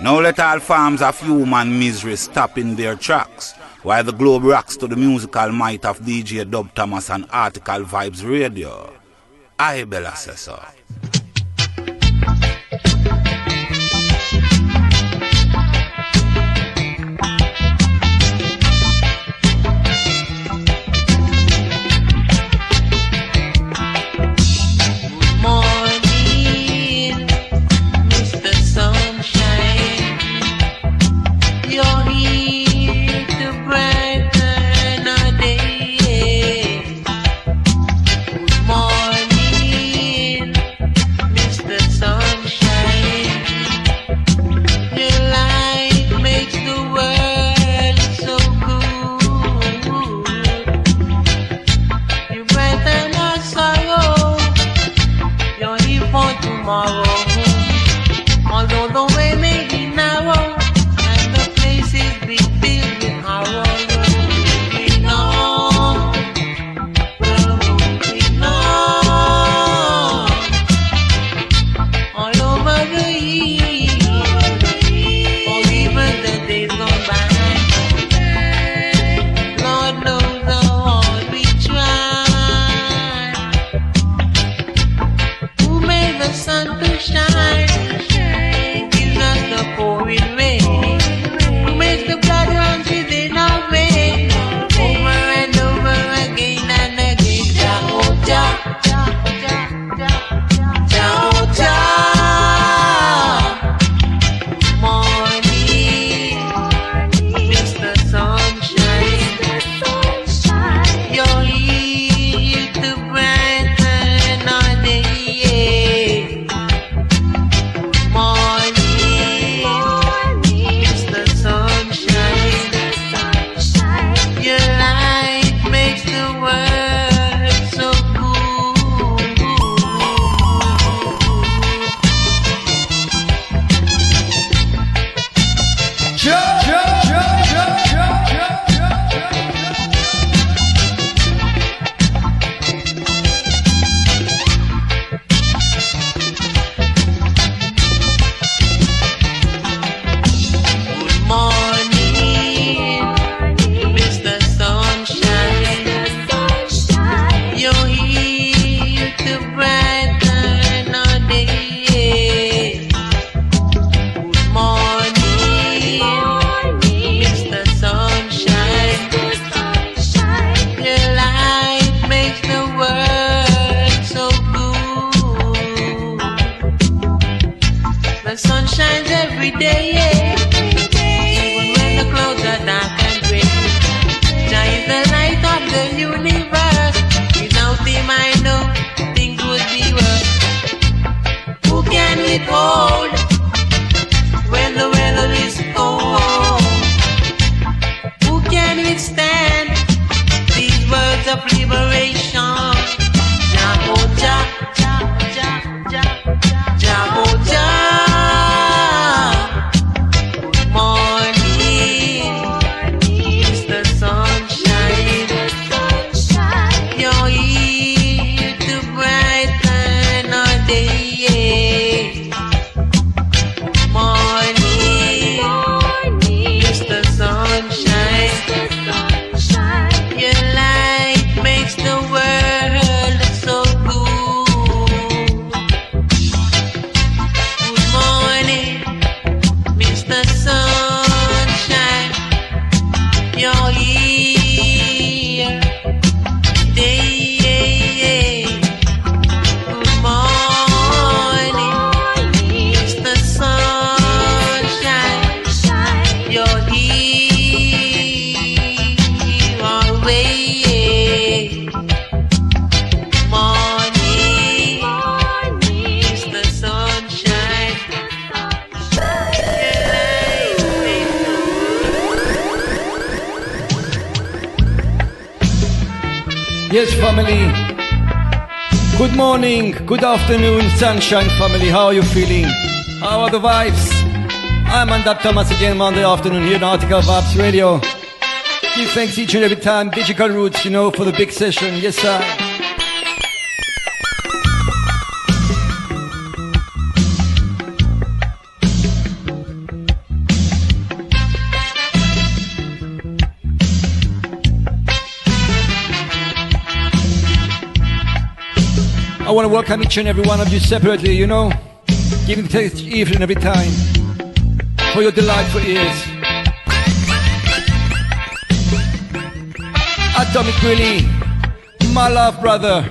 Now let all forms of human misery stop in their tracks, while the globe rocks to the musical might of DJ Dub Thomas and Article Vibes Radio. I Bella says so. Yes, family. Good morning, good afternoon, Sunshine family. How are you feeling? How are the vibes? I'm Dub Thomas again Monday afternoon here on Article Vibes Radio. Give thanks each and every time. Digital Roots, you know, for the big session. Yes, sir. I want to welcome each and every one of you separately, you know, giving thanks each and every time for your delightful ears. Atomic Willie, my love brother.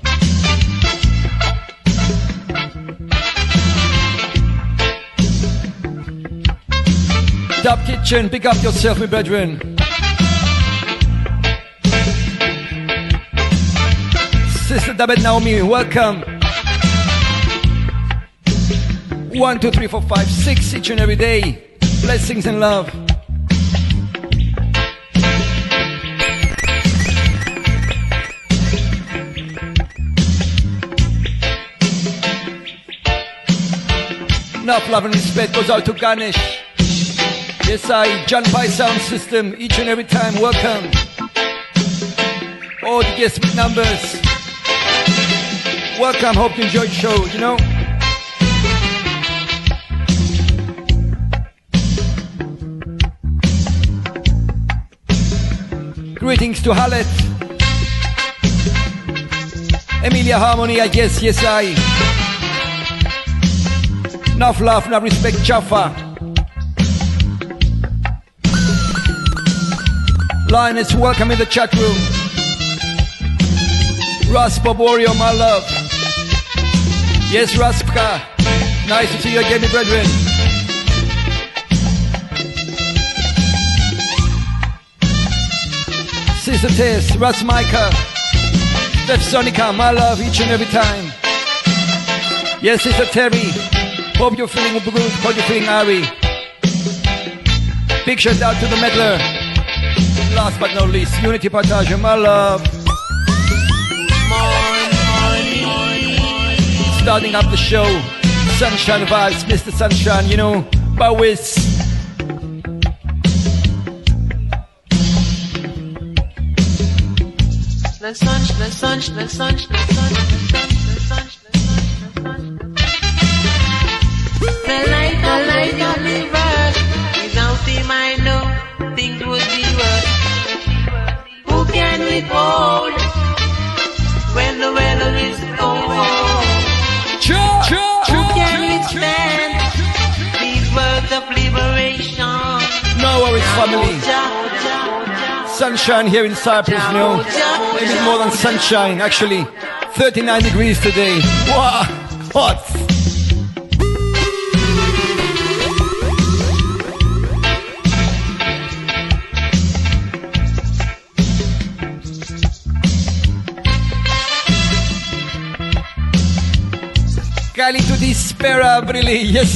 Dub Kitchen, pick up yourself, my brethren. Sister Dabet Naomi, welcome. 1, 2, 3, 4, 5, 6 each and every day. Blessings and love. Enough love and respect goes out to Ganesh. Yes, John Pye Sound System, each and every time, welcome. All the guests with numbers. Welcome, hope you enjoyed the show, you know. Greetings to Hallet. Emilia Harmony, I guess, yes, Enough love, enough respect, Jaffa. Lioness, welcome in the chat room. Russ Boborio, my love. Yes, Raspka. Nice to see you again, my brethren. Sister Tess, Russ Micah. Steph Sonica, my love, each and every time. Yes, Sister Terry. Hope you're feeling good. Hope you're feeling airy. Big shout out to the meddler. Last but not least, Unity Partage, my love. Starting up the show, Sunshine Vibes, Mr. Sunshine, you know, Bowis. The sun. The light of the verse. Without him, I know things would be worse. Who can withhold when the weather is cold? Who can withstand these words of liberation? No worries, family. Sunshine here in Cyprus, you know. Maybe more than sunshine, actually. 39 degrees today. Wow, hot. Cali to dispera, really, yes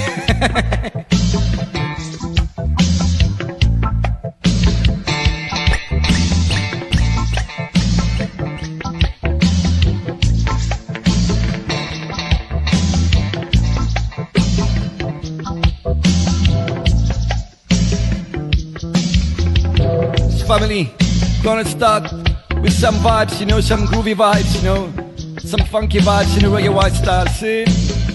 Family, gonna start with some vibes, you know, some groovy vibes, you know. Some funky vibes in a reggae white style, see?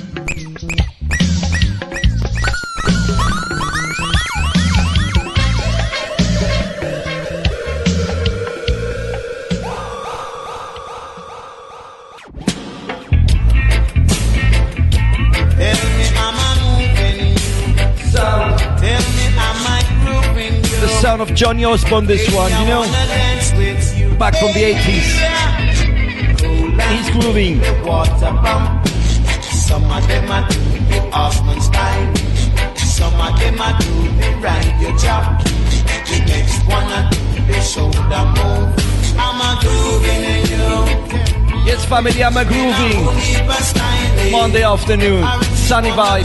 The sound of Johnny Osborne, this one, you know? Back from the 80s. He's grooving. Some of them are do the Osman style. Some of them are do the ride your job. The next one are do the shoulder move. I'm a grooving in you. Yes, family, I'm a grooving. Monday afternoon, sunny vibes.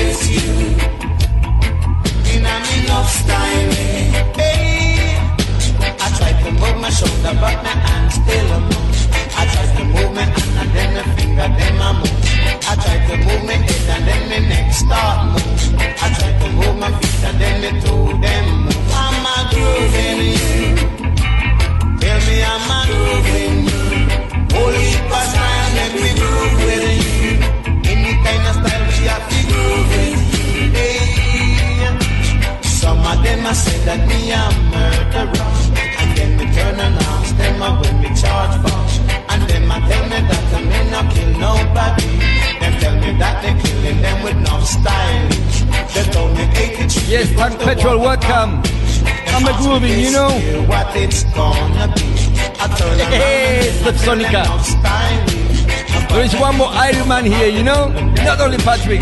I try to move my shoulder, but my hands still move. I try to move my hand and then my finger, then my move. I try to move my head and then my neck start move. I try to move my feet and then my toe, then move. I'm a grooving you. Tell me I'm a grooving you. Holy style, let me groove with you. Any kind of style we have to groove with you. Hey. Some of them I say that me a murderer. And then me turn and ask them when me charge for. And them I tell me that I'm in Tank Petrol, welcome. I'm a grooving, you know. What it's gonna be. I turn Hey, Steph Sonica. There is one more Iron Man here, you know. Not only Patrick. I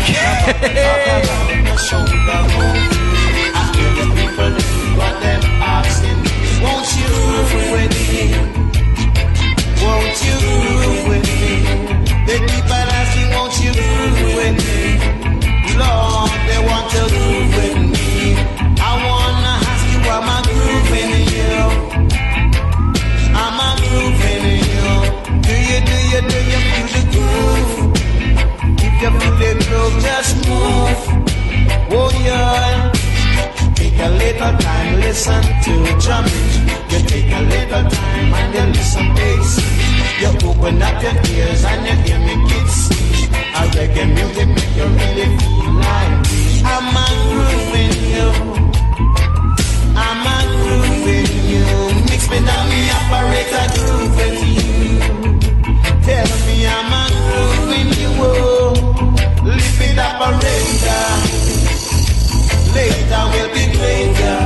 hear the people what them asking. Won't you groove with me? Won't you groove with me? The people asking, won't you groove with me? Lord, they want to groove with me. I wanna ask you, am I grooving you? Am I grooving you? Do you feel the groove? If you feel the groove, just move. Oh yeah. Take a little time, listen to drumming. You take a little time and you listen bass. You open up your ears and you hear me kids. A reggae music make you really feel like I'm a grooving you. I'm a grooving you. Mix me down the operator groove with you. Tell me I'm a grooving you. Oh, lift it operator. Later will be greater.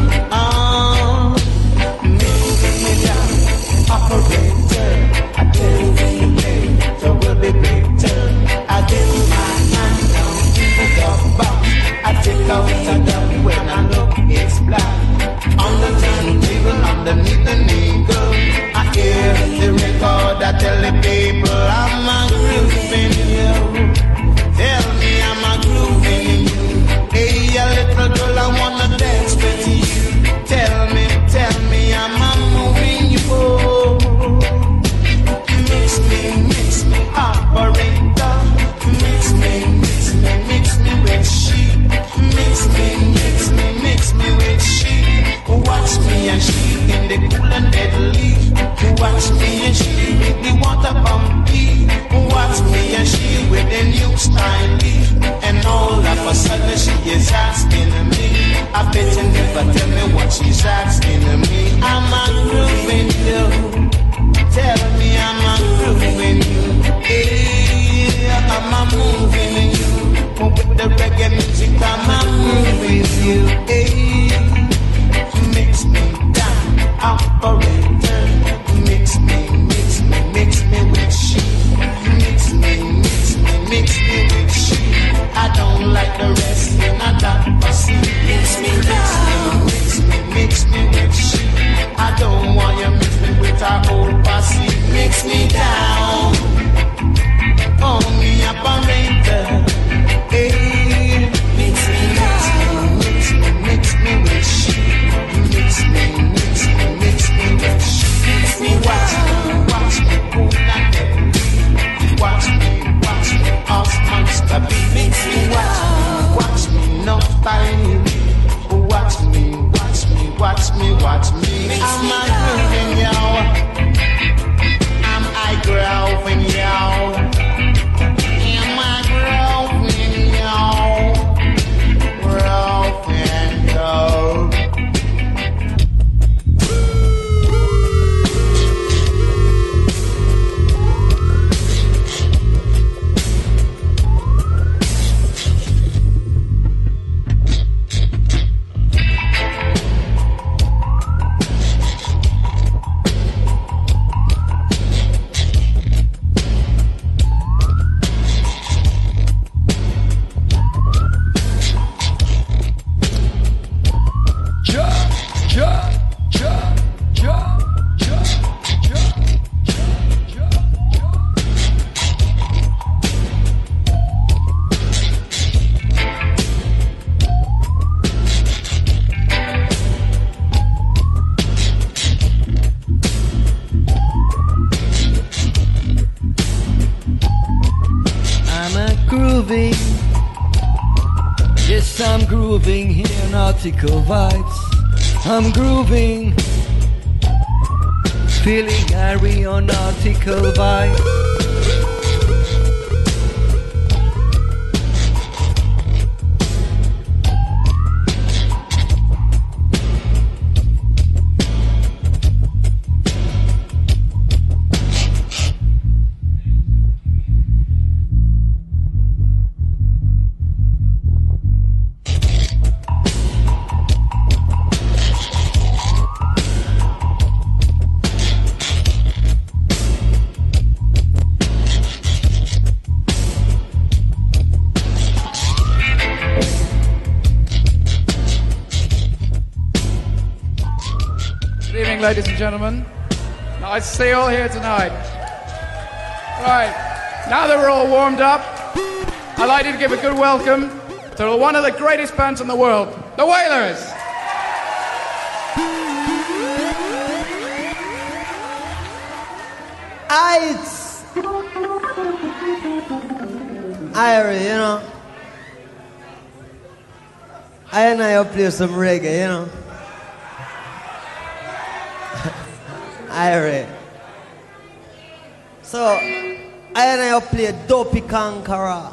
Moving me down, operator. I tell you later will be greater. I get my hand down to the box. I take out the dumb when I look it's black. On the turntable underneath the needle, I hear the record. I tell the people I'm a grooving you. Tell me I'm a grooving you. Hey, a little girl, I wanna dance with you. Tell me, I'm a moving you. Oh. Mix me, operator. Mix me with she. Mix me with she. Watch me and she in the cool and deadly. Watch me and she with the water bumpy. Watch me and she with the new style. And all of a sudden she is asking me. I bet you never tell me what she's asking me. I'm a grooving you. Tell me I'm a grooving you. Yeah, I'm a moving you. With the reggae music I'm a moving you. Hey, mix me down, operator. Mix me with she. Mix me with she. I don't like the rest and I don't pussy. Mix me down. Mix me with she. I don't want you mix me with our old pussy. Mix me down. Oh, me operator. Hey, mix me down. Mix me with she. Mix me with she. Mix me watch me cool and deadly. Watch me, us monster be. Mix me watch me no style. Watch me. I'm a grooving y'all. I'm I grooving y'all. Am I grooving y'all? Grooving y'all. Yes, I'm grooving here in Article Vibes. I'm grooving, feeling Harry on Article Vibes. morning, ladies and gentlemen. Nice to see you all here tonight. Right, now that we're all warmed up, I'd like you to give a good welcome to one of the greatest bands in the world, the Wailers. Irie, you know. I and I play some reggae, you know. Irie. So, I and I play Dopey Conqueror.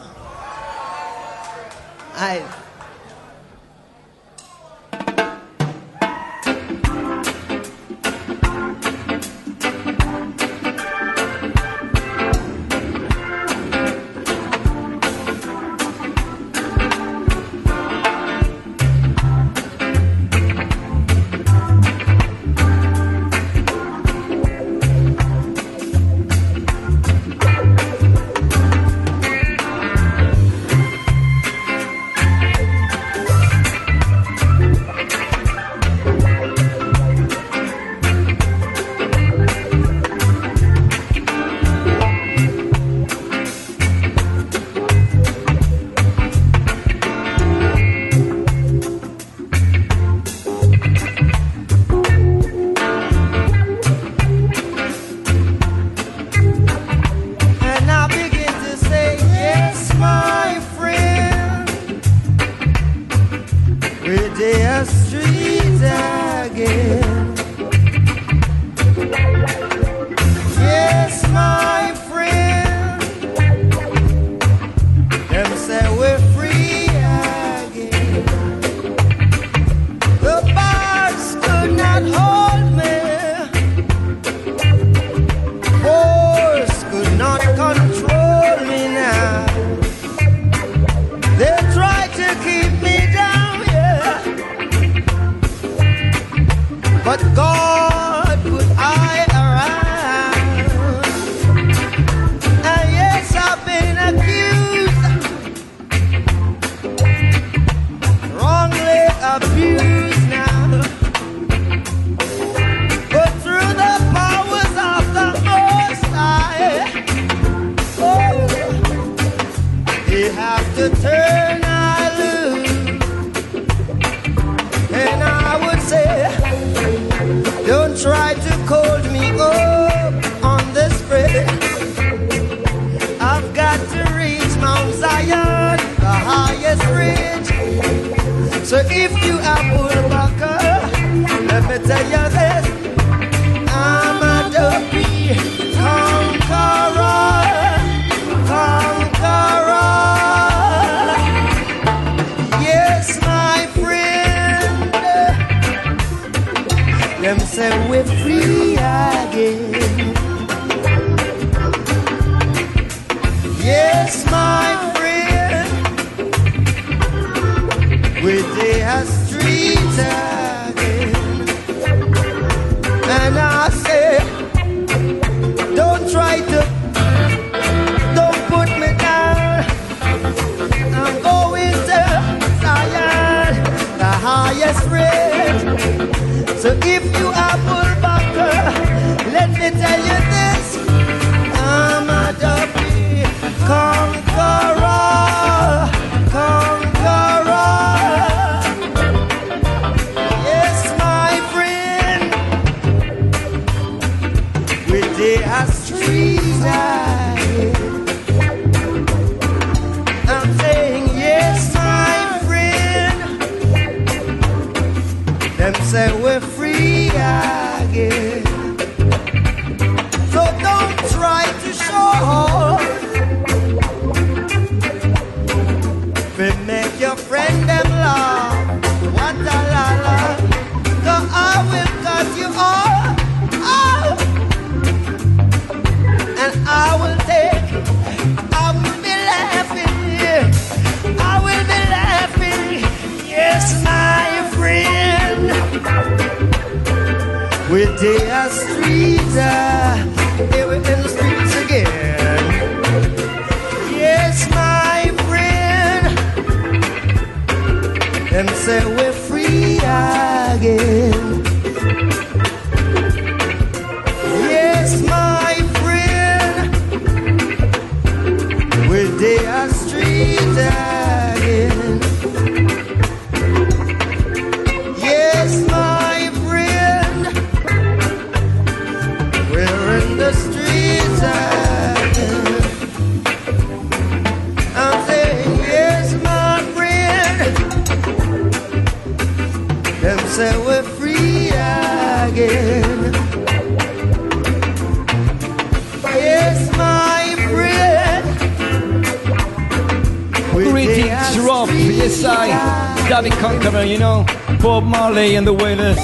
Yes, David Conqueror, you know, Bob Marley and the Wailers,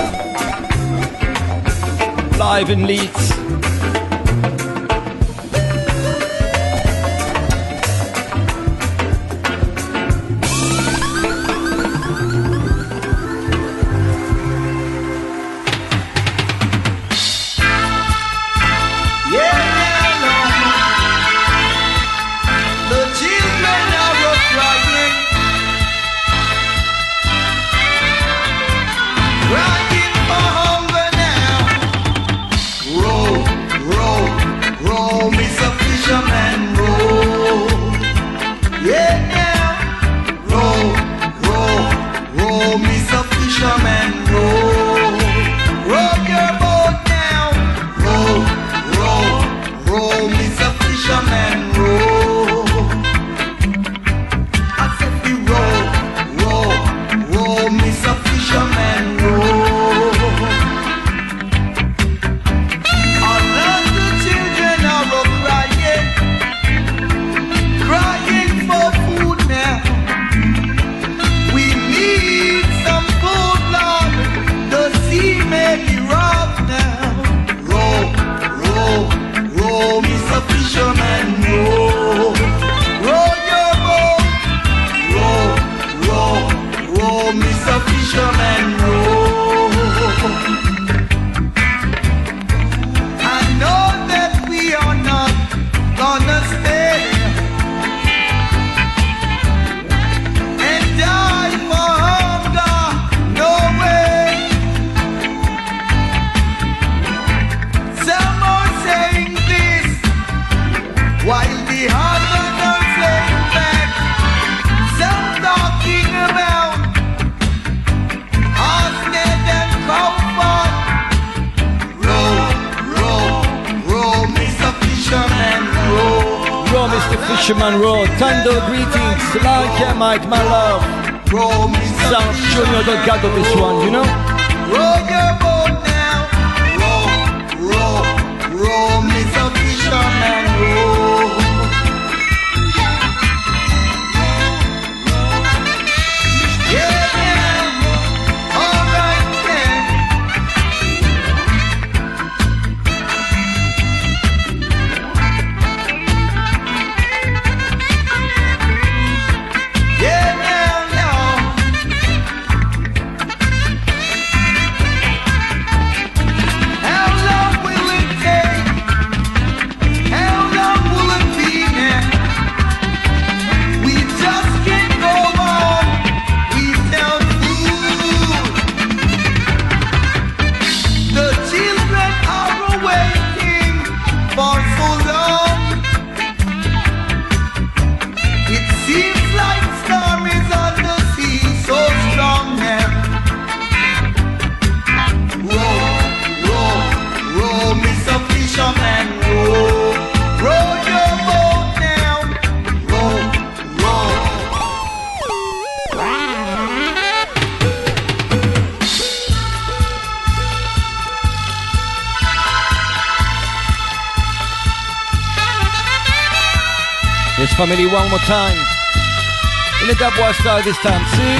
live in Leeds. Fisherman Road, Tando greetings, like Mike, my love. Sound Junior Delgado, this one, you know? Roll your boat now, roll, Mr. Fisherman, roll. Yeah, alright then. Yes, family, one more time. In the dubwise style this time, see?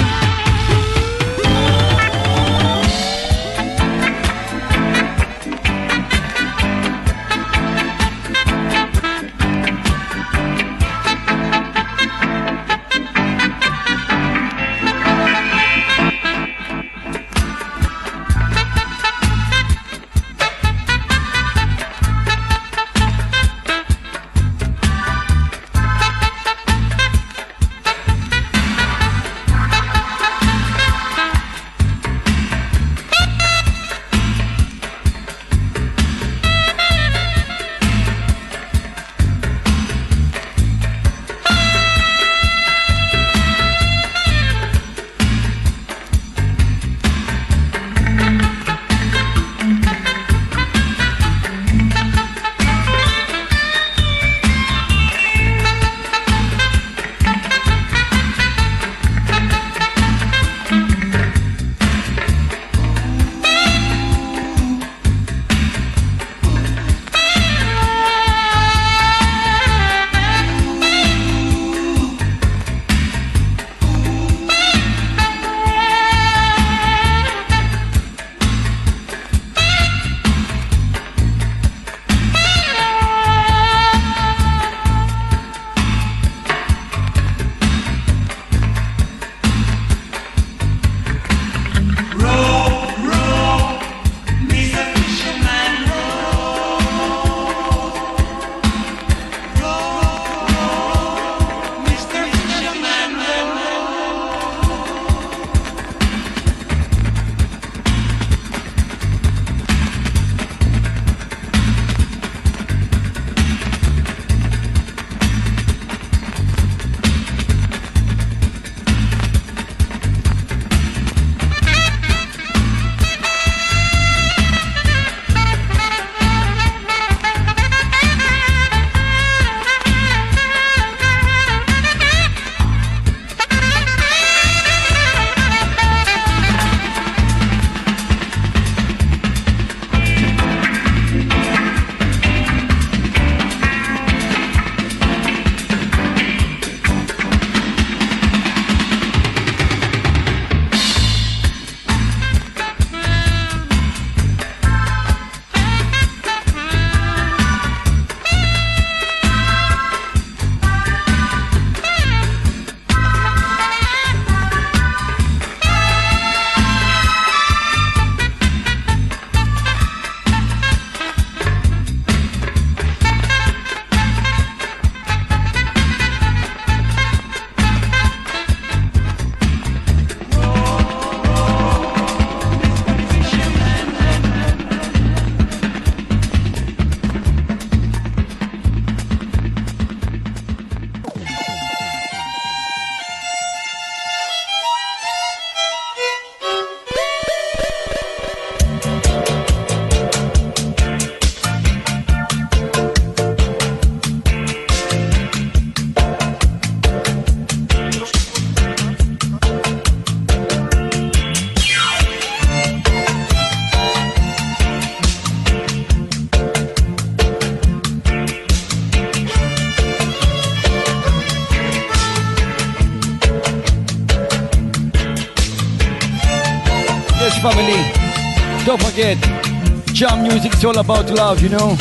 family. Don't forget, jam music is all about love, you know.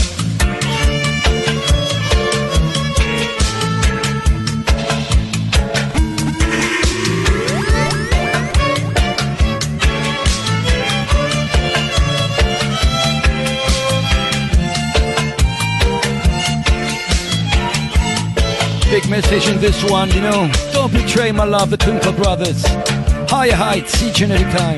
Big message in this one, you know. Don't betray my love, the Twinkle Brothers. Higher heights each and every time.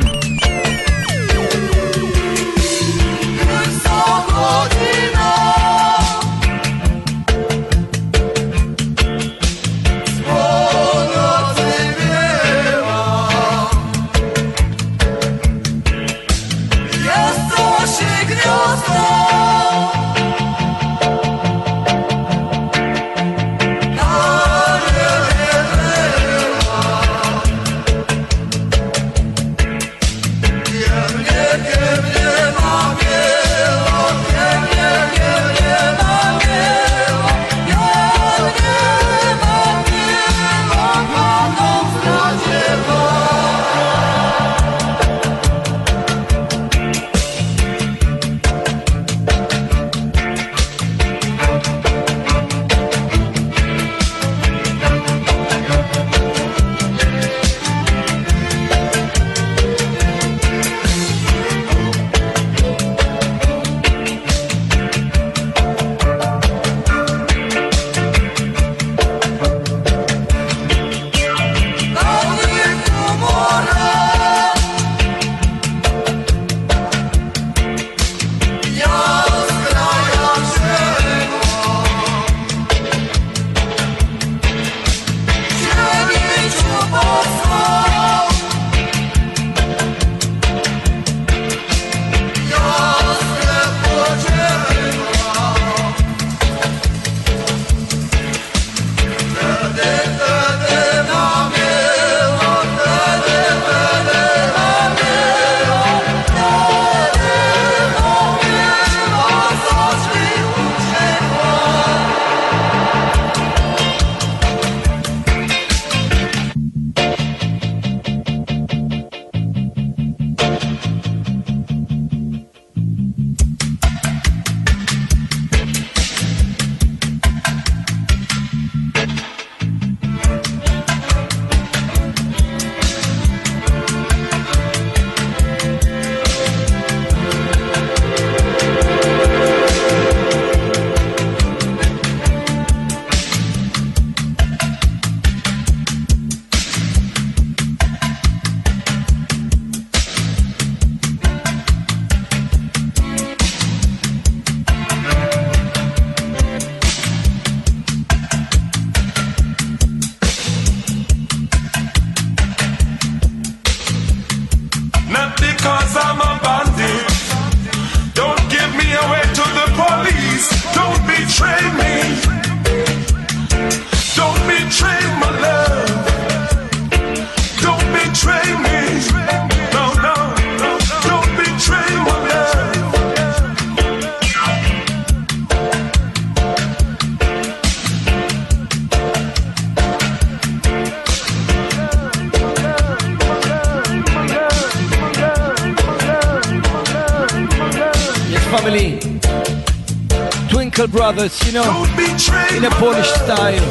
Brothers, you know, in a Polish style.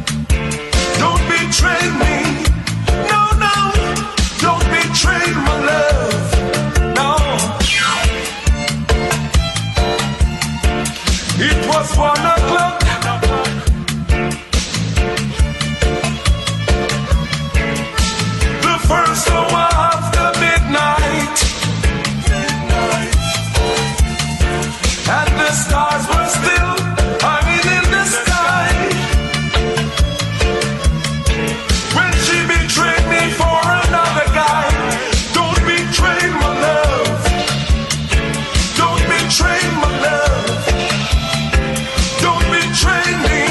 Don't betray me, no, no. Don't betray my love, no. It was 1 o'clock. The first hour after midnight, and the stars were still hanging in the sky. When she betrayed me for another guy. Don't betray my love. Don't betray my love. Don't betray me.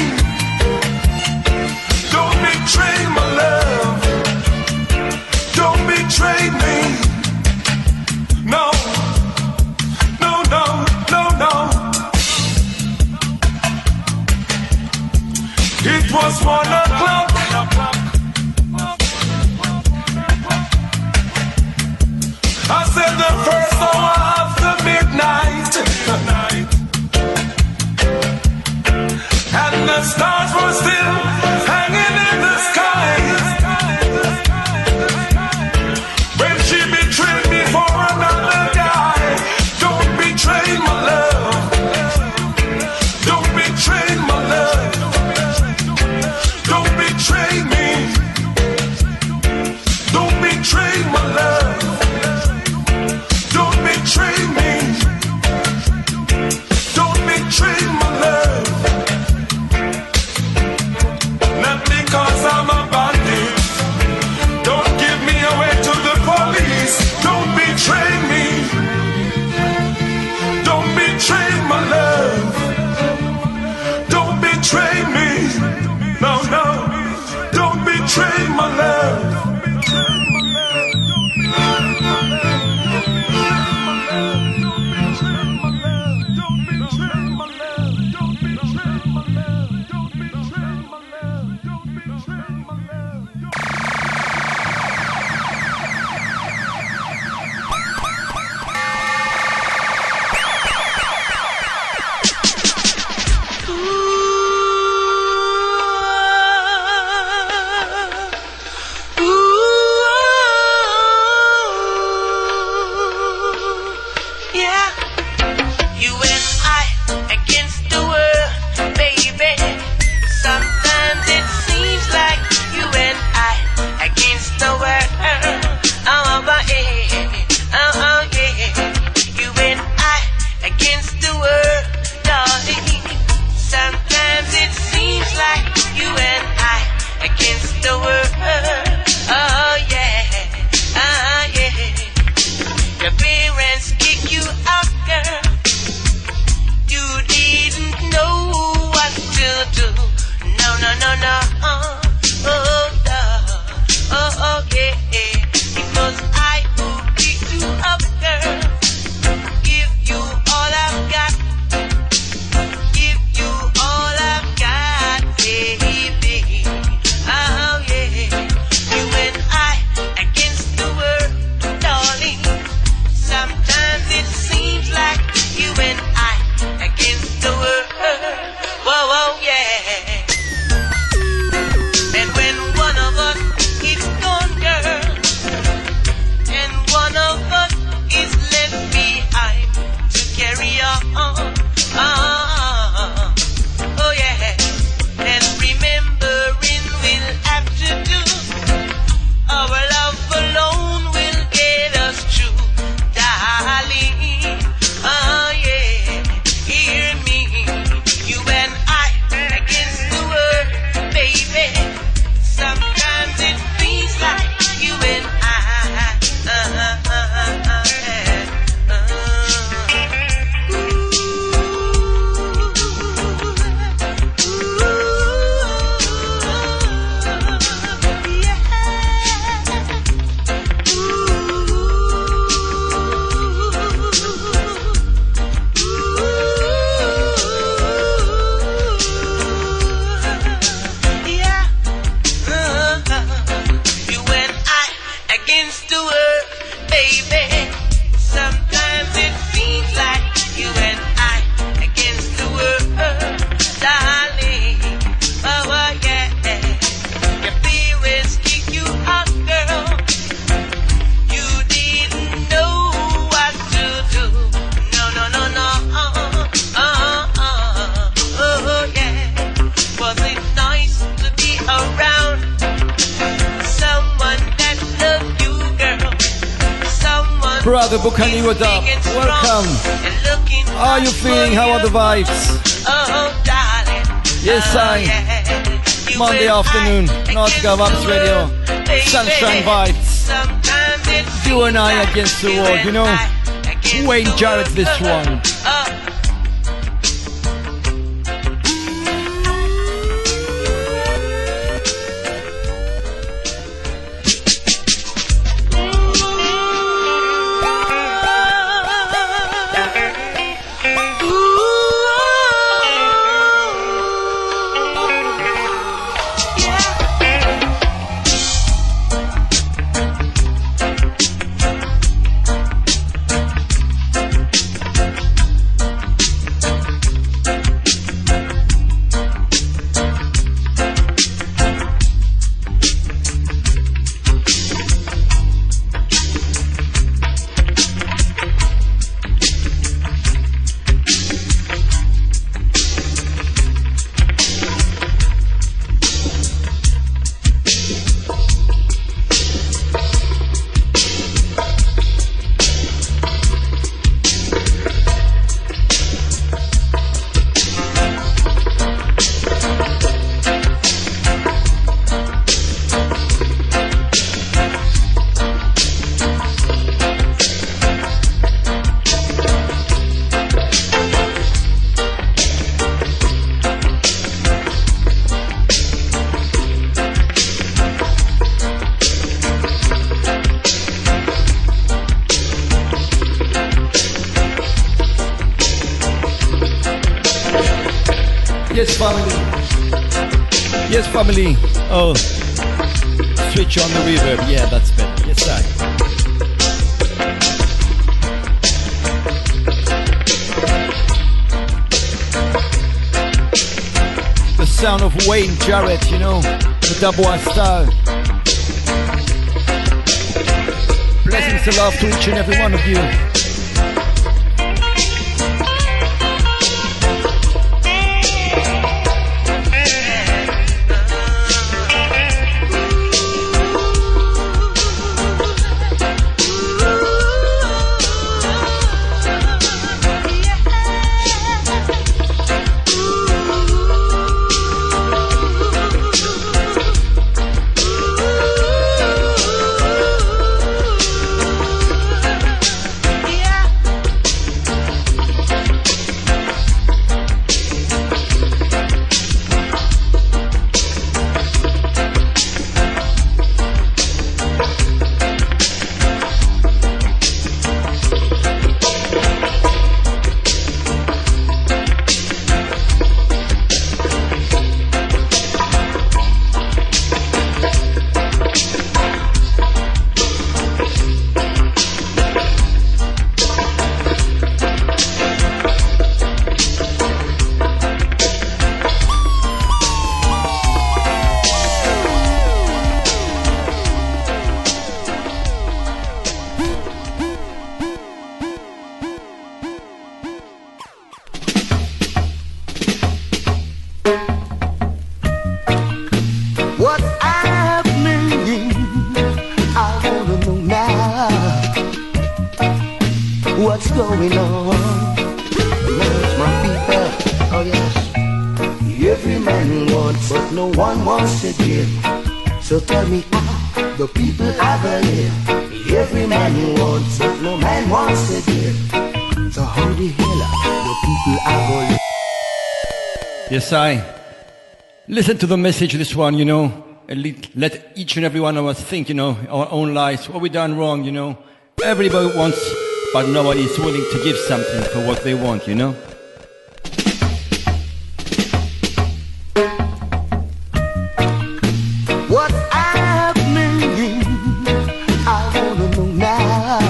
Don't betray my love. Don't betray me. No. No, no, no, no. It was 1 o'clock. I said the first hour after midnight, and the stars were still hanging in the sky. When she betrayed me for another guy, don't betray my love. Don't betray my love. Don't betray me. Don't betray my love. Don't betray me. Don't betray my love. Not because I'm a bandit. Don't give me away to the police. Don't betray me. Don't betray my love. Don't betray me. No, no. Don't betray my love. Brother Bukani, what up? Welcome. How are you feeling? How are the vibes? Yes, I. Monday afternoon, Nautica Vibes Radio. Sunshine vibes. You and I against the world, you know? Wayne Jarrett, this one. Yes, family. Oh, switch on the reverb. Yeah, that's better. Yes, I. The sound of Wayne Jarrett, you know, the double style. Blessings and love to each and every one of you. Yes, I. Listen to the message, this one, you know. Let each and every one of us think, you know, our own lives, what we done wrong, you know. Everybody wants, but nobody is willing to give something for what they want, you know. What's happening? I wanna know now.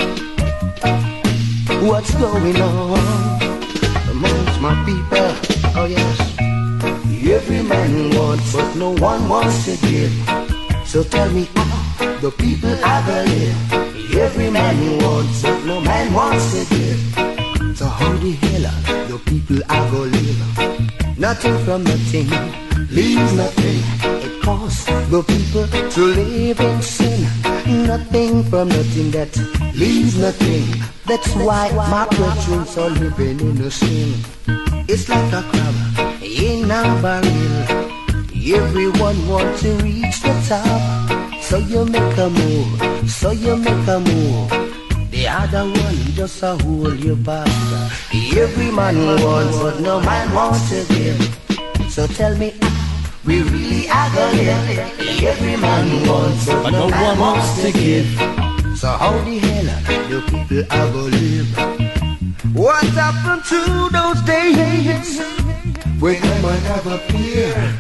What's going on amongst my people? Oh yes, every man wants, but no one wants to give. So tell me how the people are gonna live. Every man wants, but no man wants to give. So how the hell are the people are gonna live? Nothing from nothing, leave nothing. It costs the people to live in sin. Nothing from nothing that leaves nothing. That's why my brethren are living in the sin. It's like a crab in a barrel. Everyone wants to reach the top. So you make a move, so you make a move. The other one just a hold you back. Every man wants, but no man wants to give. So tell me, we really are gonna live. Every man wants, but no one wants to give. So how the hell do people are gonna live? What happened to those days when no man ever appeared?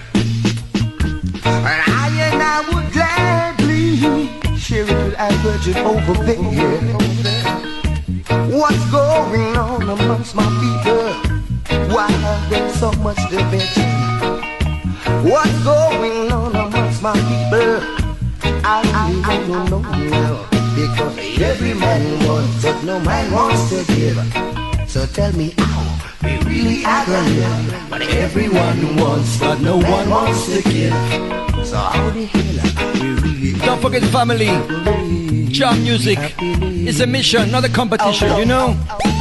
And I would gladly share it with our virgin over there. What's going on amongst my people? Why are there so much division? What's going on amongst my people? I really don't know now. Because every man wants, but no man wants to give. So tell me how we really are gonna live. But everyone wants, but no one wants to give. So how the hell are we really? Don't forget, family, jam music is a mission, not a competition, you know.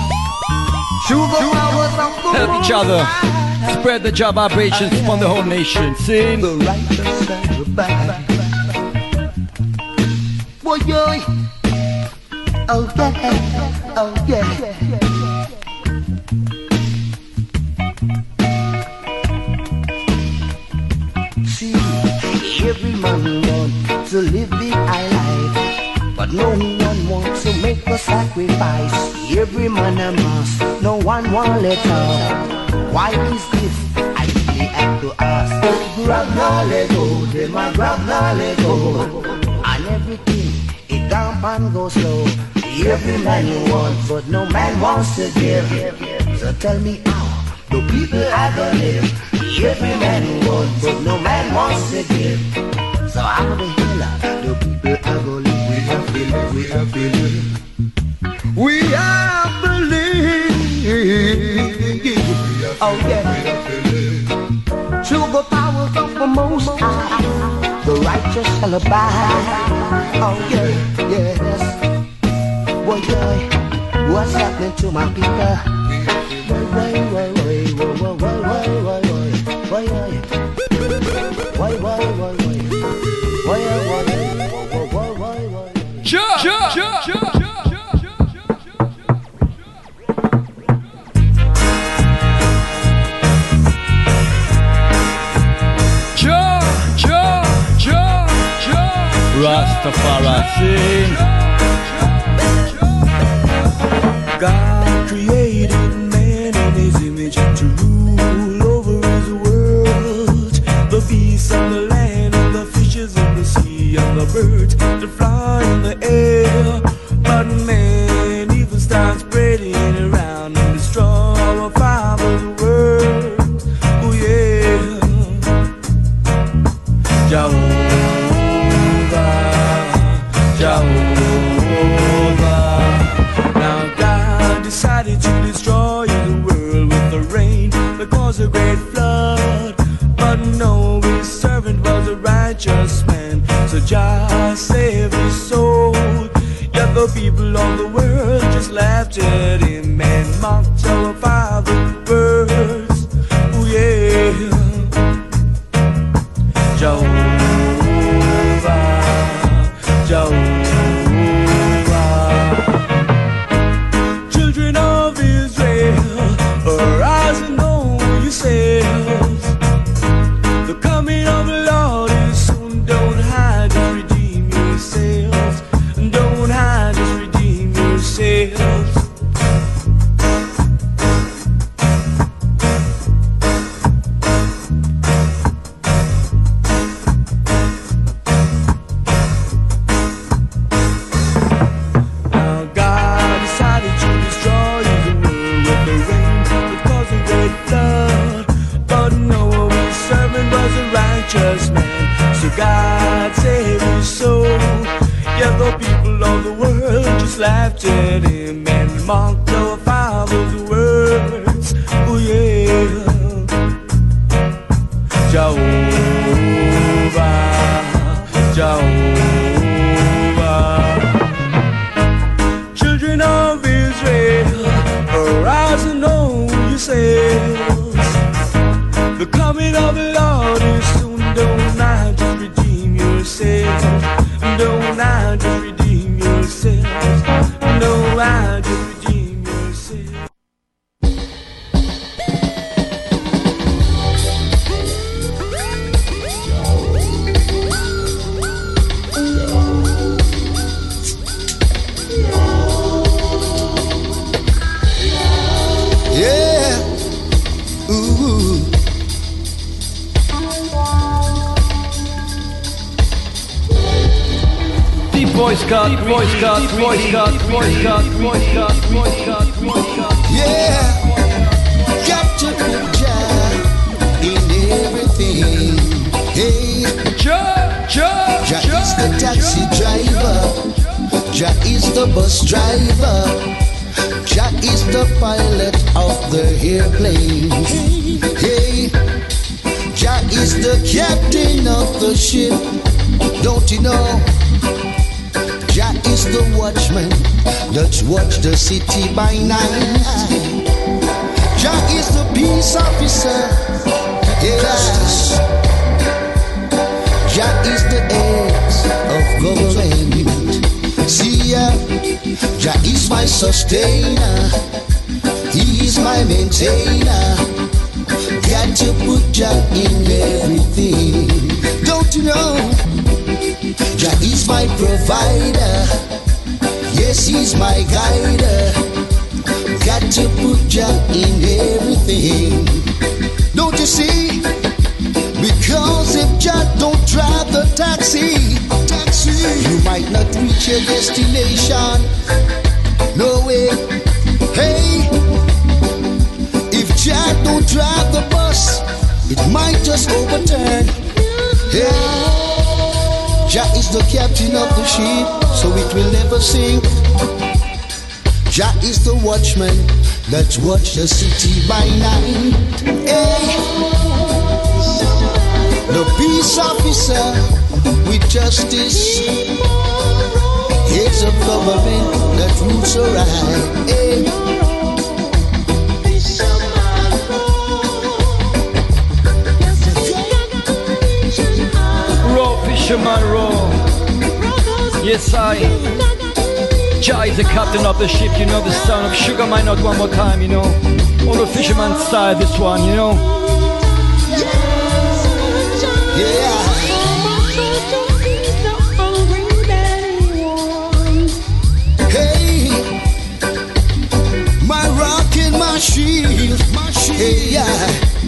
Help each other, spread the job vibrations from the whole nation. Sing. The righteous and the bad. Boy, oh yeah, oh yeah. See, every man wants to live the high life, but no one wants to make a sacrifice. Every man a must, no one wants let go. Why is this? I really have to ask. grab now let go, them a grab now let go. And everything, it down and go slow. Every man you want, but no man wants to give. So tell me how the people are gonna live. Every man you want, but no man wants to give. So how the hell the people are gonna live? We are feeling, we are feeling. We are believing. Oh yeah. Through the power of the Most High, the righteous shall abide. Oh yeah, yes. Boy, boy, what's happening to my people? Why? Rastafari sing. God created man in his image to rule over his world. The beasts of the land and the fishes of the sea and the birds that fly in the air. But man even starts spreading around and destroy our Father's world. Oh yeah. Jehovah. Now God decided to destroy the world with the rain that caused a great flood. But no, his servant was a righteous man, so Jah saved his soul. Yet the people of the world just laughed at him and mocked our Father's words. Oh yeah. Jehovah. Children of Israel, arise and know yourselves. The coming of the Lord is soon. Don't hide, just redeem yourselves. Don't hide, just redeem yourselves. Man, so God saved his soul. Yet the people of the world just laughed at him and mocked our Father's words. Oh yeah. Jehovah. Children of Israel, arise and know yourselves. The coming of the Lord is soon. Don't now just redeem yourselves. Don't now just redeem yourselves. No, I just redeem yourselves. Yeah. Ooh. Voice cut. Yeah, got to put Jah in everything. Hey, Jah is the taxi driver. Jah is the bus driver. Jah is the pilot of the airplane. Hey, Jah is the captain of the ship. Don't you know? Jah is the watchman that watch the city by night. Jah is the peace officer. Yes. Jah is the head of government. See ya, Jah is my sustainer. He is my maintainer. Got to put Jah in everything. Don't you know? Jah is my provider. Yes, he's my guider. Got to put Jah in everything. Don't you see? Because Cause if Jah don't drive the taxi, you might not reach your destination. No way. Hey, if Jah don't drive the bus, it might just overturn. Hey, Jah is the captain of the ship, so it will never sink. Jah is the watchman that's watched the city by night. Hey, the peace officer with justice, heads of government that rules the right. Hey. Raw fisherman raw. Yes, Jah is the captain of the ship, you know, the sound of Sugar might not one more time, you know. All the fisherman style, this one, you know. Yeah. Hey, my rock and my shield, hey, yeah.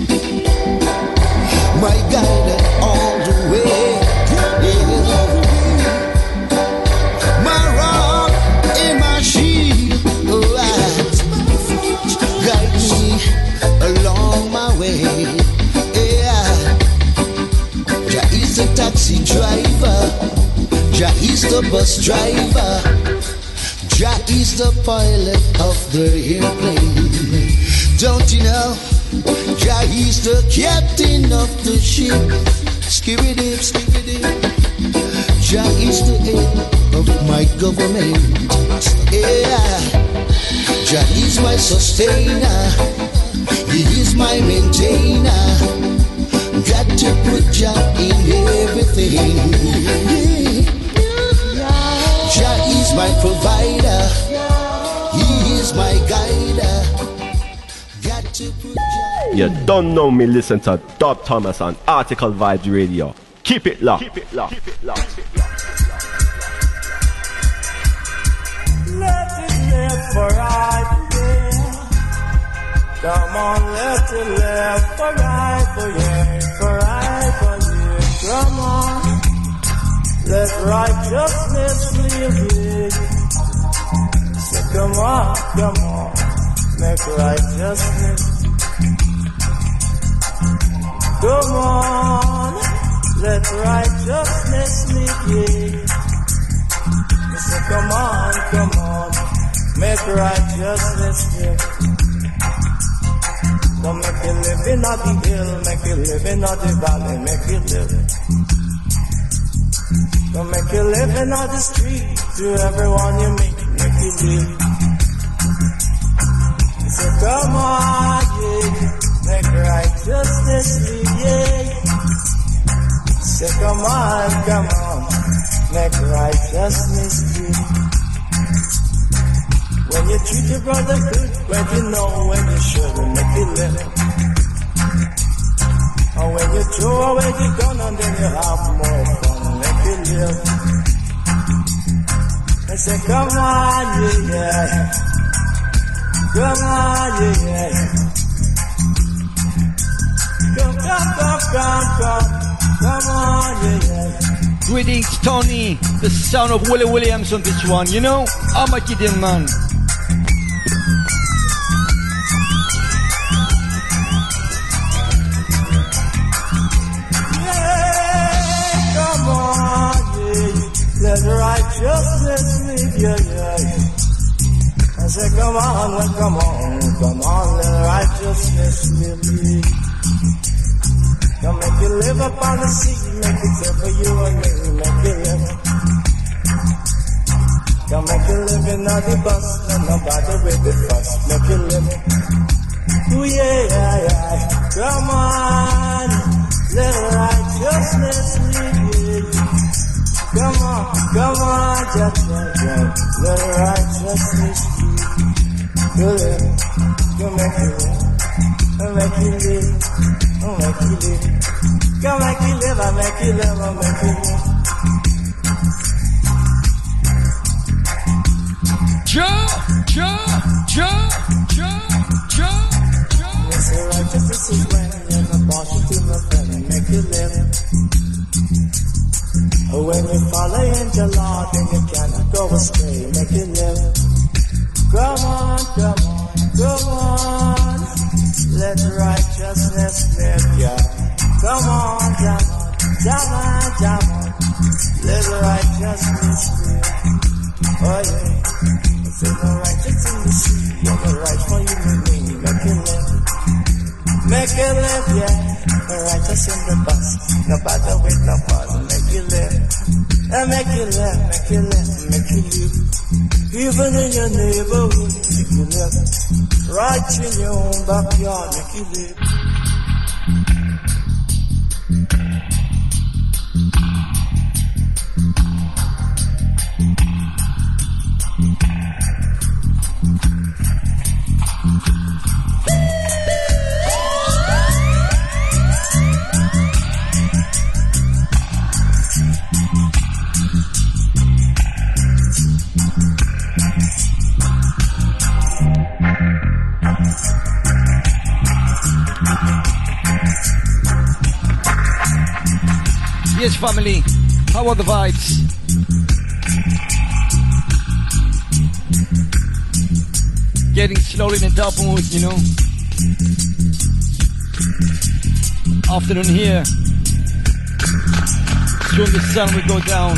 My guide all the way. Taxi driver, Jah is the bus driver, Jah is the pilot of the airplane. Don't you know? Jah is the captain of the ship. Skibidi, skibidi. Jah is the head of my government. Yeah, Jah is my sustainer. He is my maintainer. Got to put Jah in everything. Jah is my provider. He is my guider. Got to put Jah. You don't know me, listen to Dub Thomas on Article Vibes Radio. Keep it locked. Keep it locked. Keep it locked. Let it live for right, yeah. Come on, let it live for right, for yeah, for right, for yeah. Come on, let righteousness live, yeah. So come on, make righteousness. Come on, let righteousness live, yeah. So come on, make righteousness live. Come make you live in the hill, make you live in the valley, make you live. Come make you live in the street, to everyone you meet, make you live. So come on, yeah, make righteousness live, yeah. So come on, make righteousness live. When you treat your brother good, when you know when you shouldn't, make it live. And when you throw away the gun and then you have more fun, make it live. I say, come on, yeah. Come on, yeah. Come on, yeah. Greetings, Tony, the son of Willie Williams on this one, you know? I'm a kidding man. Let righteousness live, yeah. I say, come on, let righteousness live. Come make you live upon the sea, make it there for you and me, make you live. Come make you live in the bus, and nobody with the fuss, make you live. Ooh, yeah. Come on, let righteousness live, yeah. Come on, just let righteousness be. Go make you live. Come make you live. Come make you live, I make you live, I make you live. Jah. Yes, righteousness is when you're not positive, my friend, and make you live. When you follow in the Lord, then you cannot go astray, make you live. Come on, come on, come on, let righteousness live, yeah. Come on, come on, come on, come on, let righteousness live. Oh yeah, if you're the righteous in the sea, you're the right for you and me, make you live. Make you live, yeah, the righteous in the bus, no matter with no pause, make you live. And make you live, make you live, make you live. Even in your neighborhood, make you live. Right in your own backyard, make you live. Yes, family, how are the vibes? Getting slowly in a dub mood, you know. Afternoon here. Soon the sun will go down.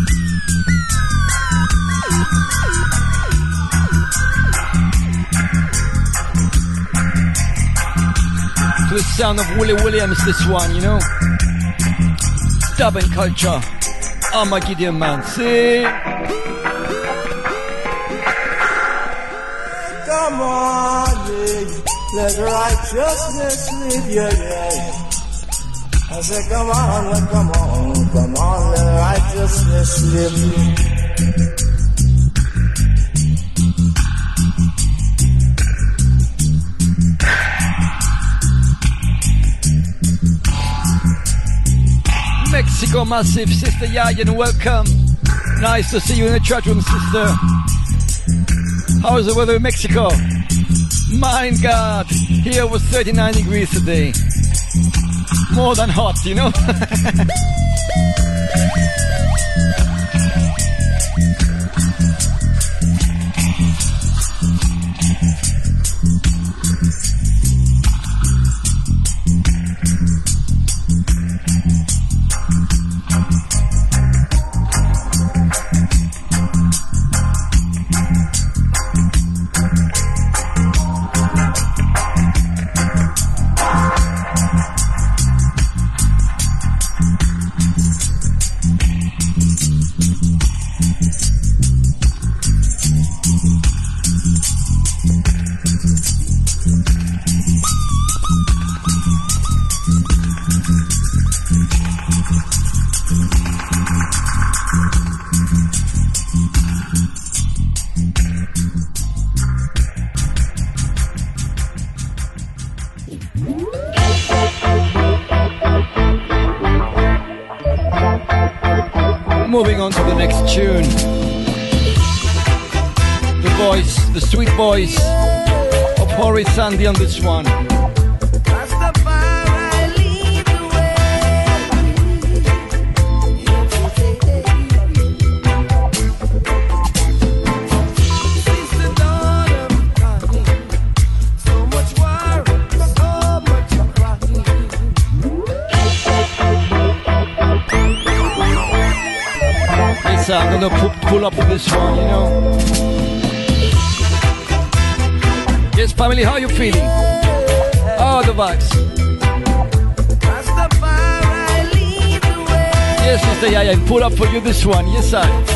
To the sound of Willie Williams, this one, you know. Dubbing culture. I'm a Gideon man. See? Come on, yeah. Let righteousness live, yeah. I say, come on, come on, let righteousness live. Mexico Massive, Sister Yayan, welcome. Nice to see you in the chat room, sister. How is the weather in Mexico? My God, here was 39 degrees today. More than hot, you know? Moving on to the next tune. The voice, the sweet voice of Horace Sandy on this one. I'm gonna pull up with this one, you know. Yes, family, how are you feeling? How are the vibes? Yes, Sister Yaya, pull up for you this one. Yes, I.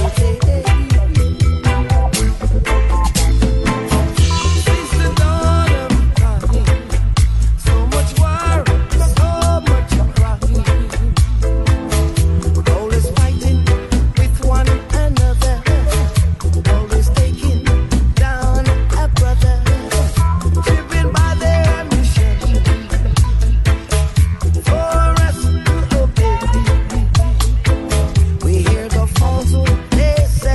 We hear the falsehood, they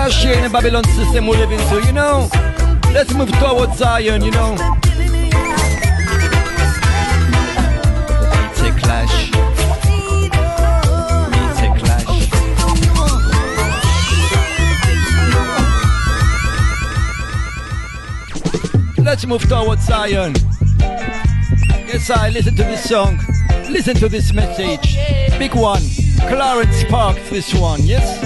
Clash here in the Babylon system we live into, you know. Let's move towards Zion, you know. It's a clash. It's a clash. Let's move towards Zion. Yes, I listen to this song. Listen to this message. Big one. Clarence Sparks, this one, yes?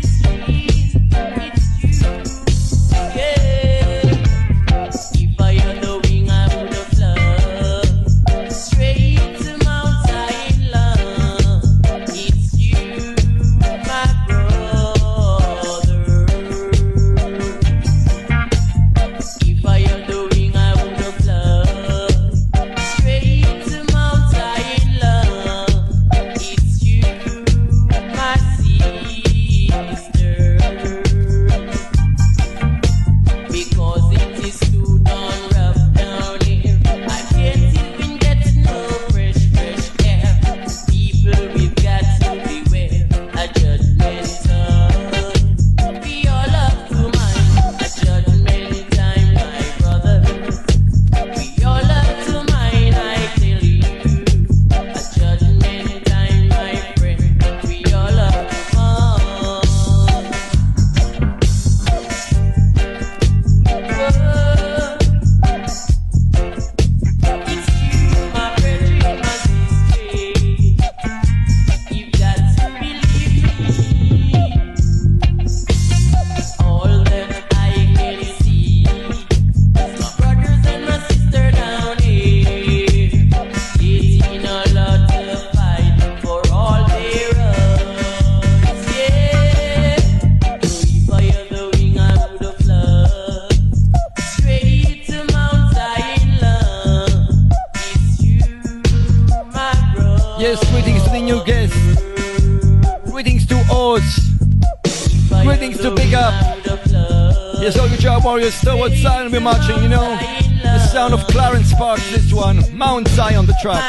Warriors towards Zion we're marching, you know. The sound of Clarence Sparks, this one. Mount Zion, the track.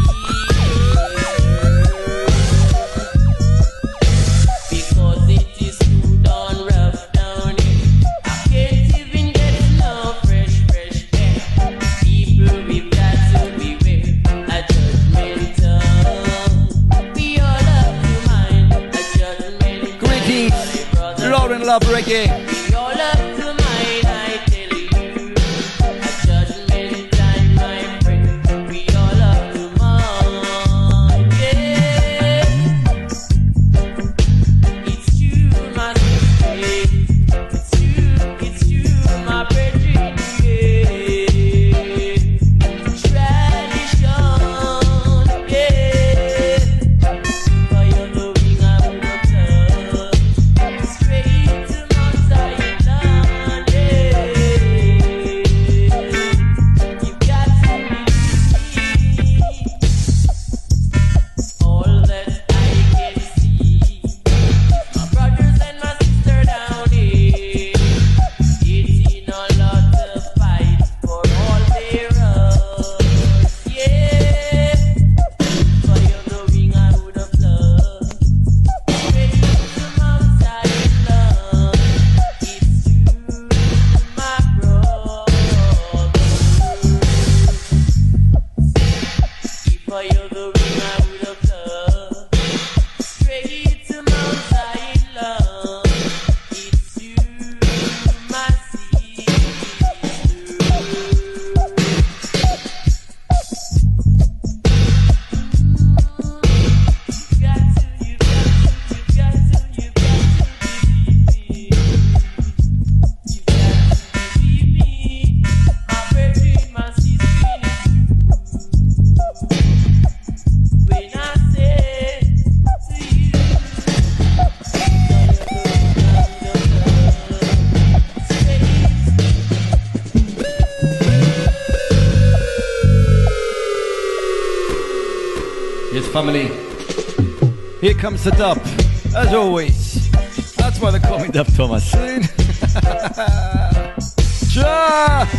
Greetings, Lauren Love Reggae. Family, here comes the dub, as always. That's why they call me Dub Thomas. Ja!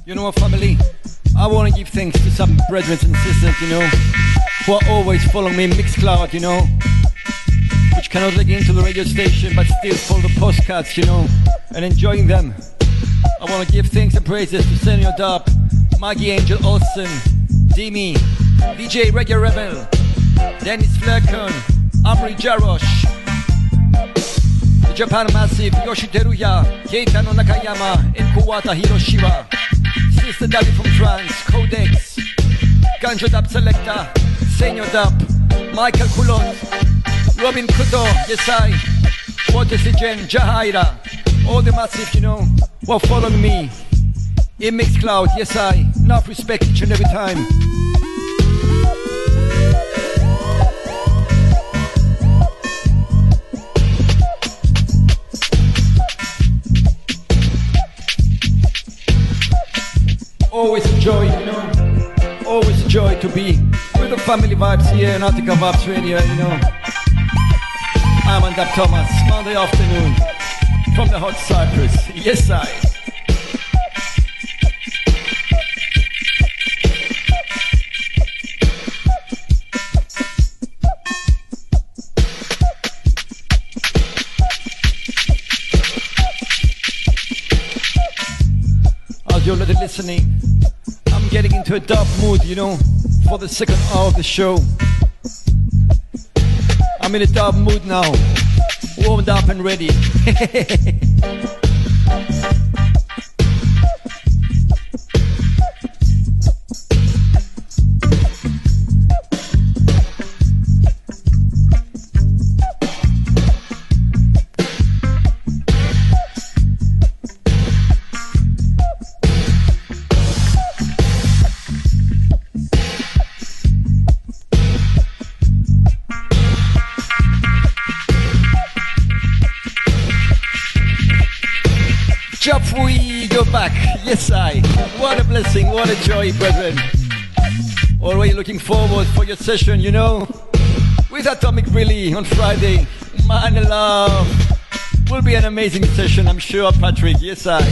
You know what, family? I want to give thanks to some brethren and sisters, you know, who are always following me in Mixcloud, you know, which cannot log into the radio station but still follow the postcards, you know, and enjoying them. I want to give thanks and praises to Senior Dub, Maggie Angel Olsen, Dimi, DJ Reggae Rebel, Dennis Flerken, Amri Jarosh, the Japan Massive, Yoshi Teruya, Keitano Nakayama, and Kuwata Hiroshima, Sister Daddy from France, Codex, Ganjo Dub Selector, Senior Dub, Michael Coulon, Robin Kuto, Yesai, Water Sijen, Jahaira, all the Massive, you know, who are following me in Mixcloud, Yesai, enough respect each and every time. Always a joy, you know, always a joy to be with the family vibes here in Attica Vibes Radio, you know. I'm Dub Thomas, Monday afternoon, from the hot Cyprus, yes I. As you're already listening, I'm getting into a dub mood, you know, for the second hour of the show. I'm in a dub mood now, warmed up and ready. Jafui, you're back. Yes, I. What a blessing, what a joy, brethren. Already looking forward for your session, you know, with Atomic Relay on Friday. Man love. Will be an amazing session, I'm sure, Patrick. Yes, I.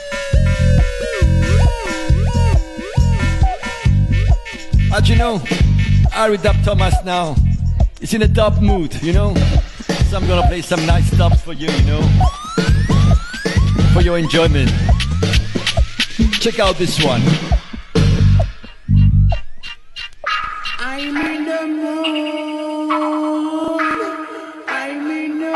As you know, Ari Dub Thomas now is in a dub mood, you know. So I'm gonna play some nice dubs for you, you know, for your enjoyment. Check out this one. I'm in the mood. I'm in the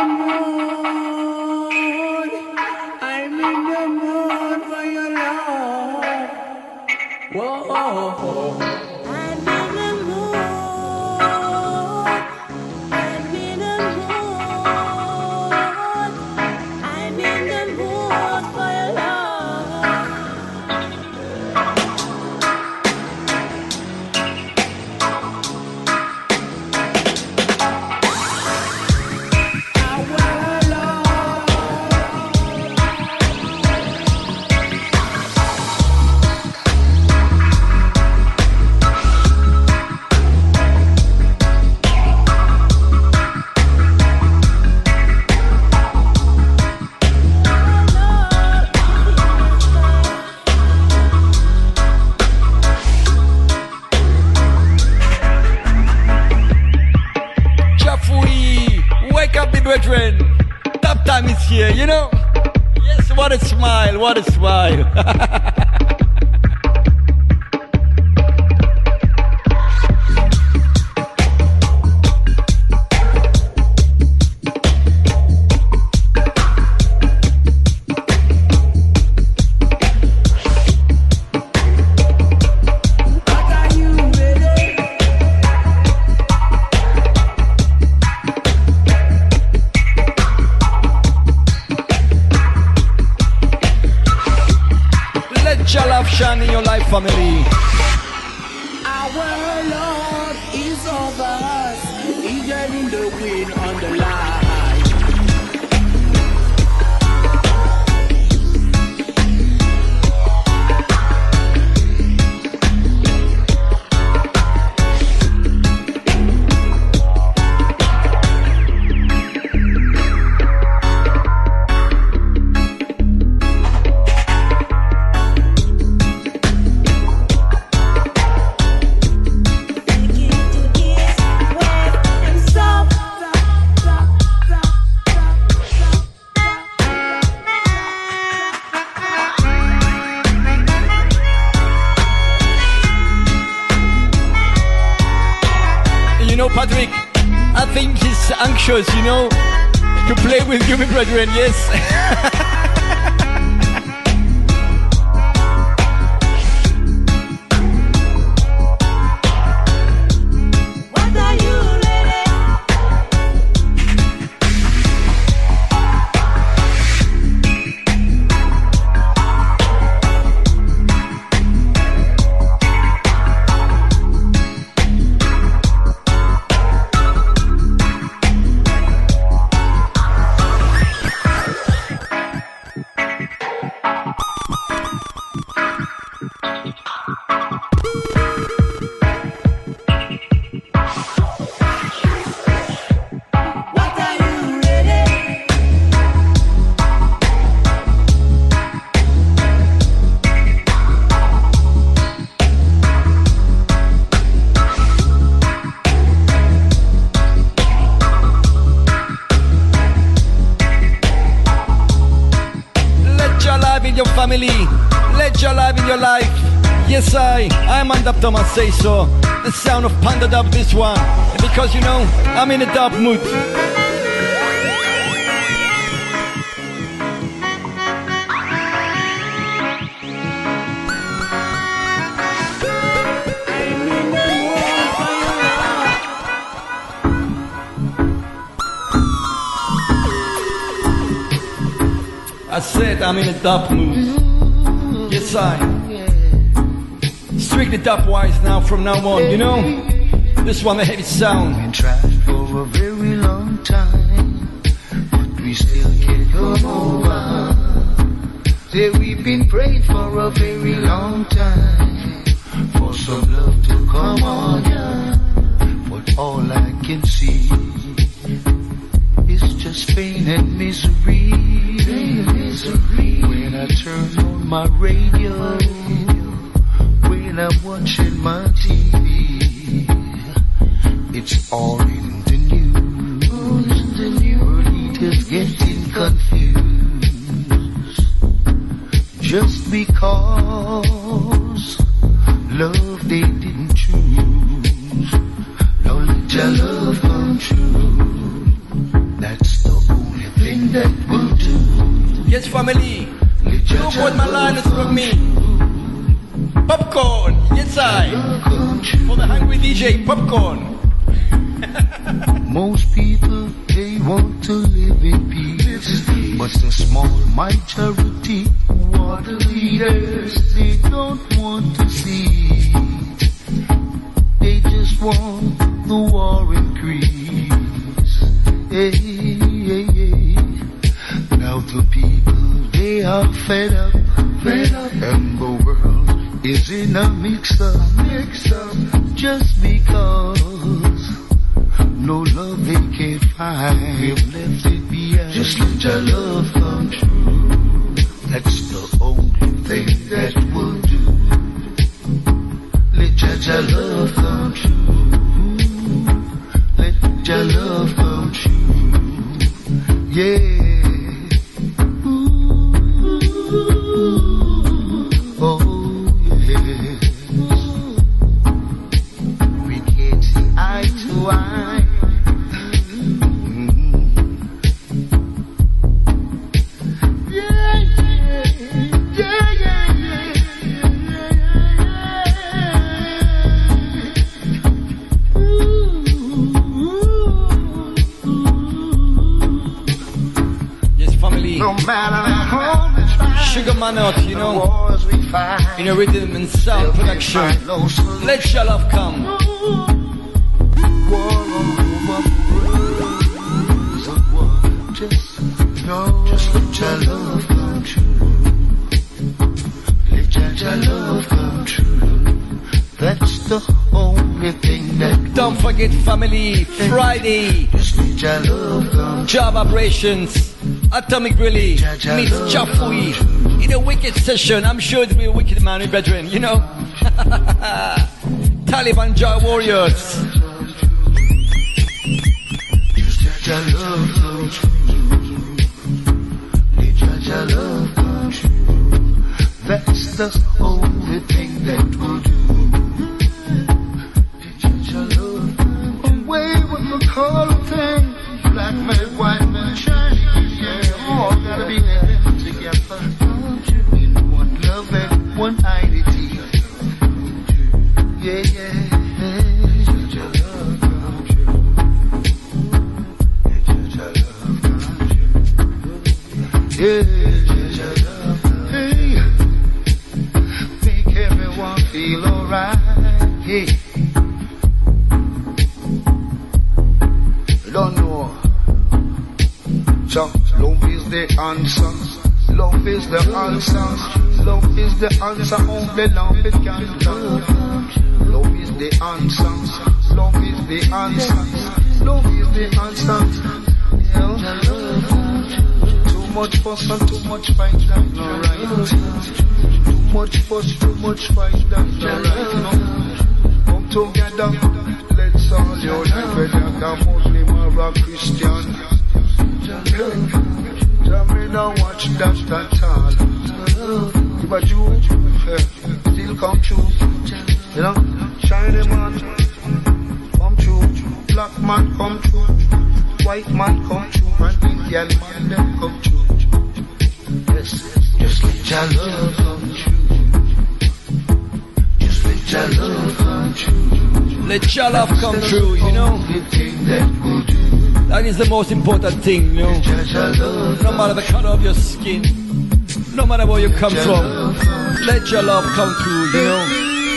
mood. I'm in the mood for your love. Whoa. I'm in the mood. I'm in the mood. I'm in the mood for your love. Brethren, top time is here, you know. Yes, what a smile, what a smile. Shine in your life, family. Our Lord is over us, even in the wind on the line. Frederick, I think he's anxious, you know, to play with you, my brethren, yes. Family, let your life in your life. Yes, I'm on Dub Thomas say so. The sound of Panda Dub this one. And because you know, I'm in a dub mood. I said I'm in a dub mood. Yes, strictly dub-wise now from now on, you know. This one, the heavy sound. Been trying for a very long time, but we still can't come over. Say we've been praying for a very long time, for some love to come on, yeah. But all I can see is just pain and misery. When I turn on my radio, when I'm watching my TV, it's all in the news. World is getting confused just because love they didn't choose. Now let your love come true. That's the only thing that will do. Yes, family. Look what my line is from me. Popcorn, yes for the hungry DJ, popcorn. Most people, they want to live in peace, but the small majority who are the leaders, they don't want to see it. They just want the war increase. Hey, hey, hey. Now the people, they are fed up, and the world is in a mix-up, just because no love they can't find. We've left it behind. Just let your love come true. That's the only thing that will do. Let your love come true. Let your love come true. Yeah. Sugar Manot, you know, in a rhythm and sound production. Let your love come. Just let your love come true. Let your love come true. That's the only thing that. Don't forget, family, Friday. Just let your love come. Job operations. Atomic Really meets Jafui in a wicked session. I'm sure it'll be a wicked man, my brethren, you know. Taliban Jar Warriors. Just let your love come true. Let your love come true. That's the only thing that will do. Let your love come true. whole thing. Black milk, white milk, shiny. Yeah, all gotta be there together. In one love and one identity. Yeah, yeah. Yeah, hey, make everyone feel alright. Hey, don't know. So, love is the answer. Love is the answer. Love is the answer. Only love it can do. Love is the answer. Love is the answer. Love is the answer. Yeah. Too much fuss and too much fight, that's not right. Too much fuss, too much fight, that's not right. No. Come together, let's all unite, whether you're Muslim or a Christian. Tell me don't watch that at all. If a Jew, still come true. You know, shiny man, come true. Black man come true. White man come true. And Indian man them come true. Yes, just let your love come true. Just let your love come true. Let your love come true, you know. That is the most important thing, you know. No matter the color of your skin, no matter where you come from, let your love come true, you know.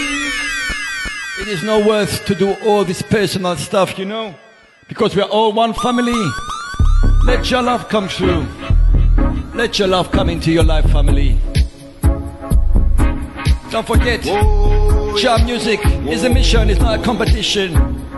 It is no worth to do all this personal stuff, you know, because we are all one family. Let your love come true. Let your love come into your life, family. Don't forget, Jah music is a mission, it's not a competition.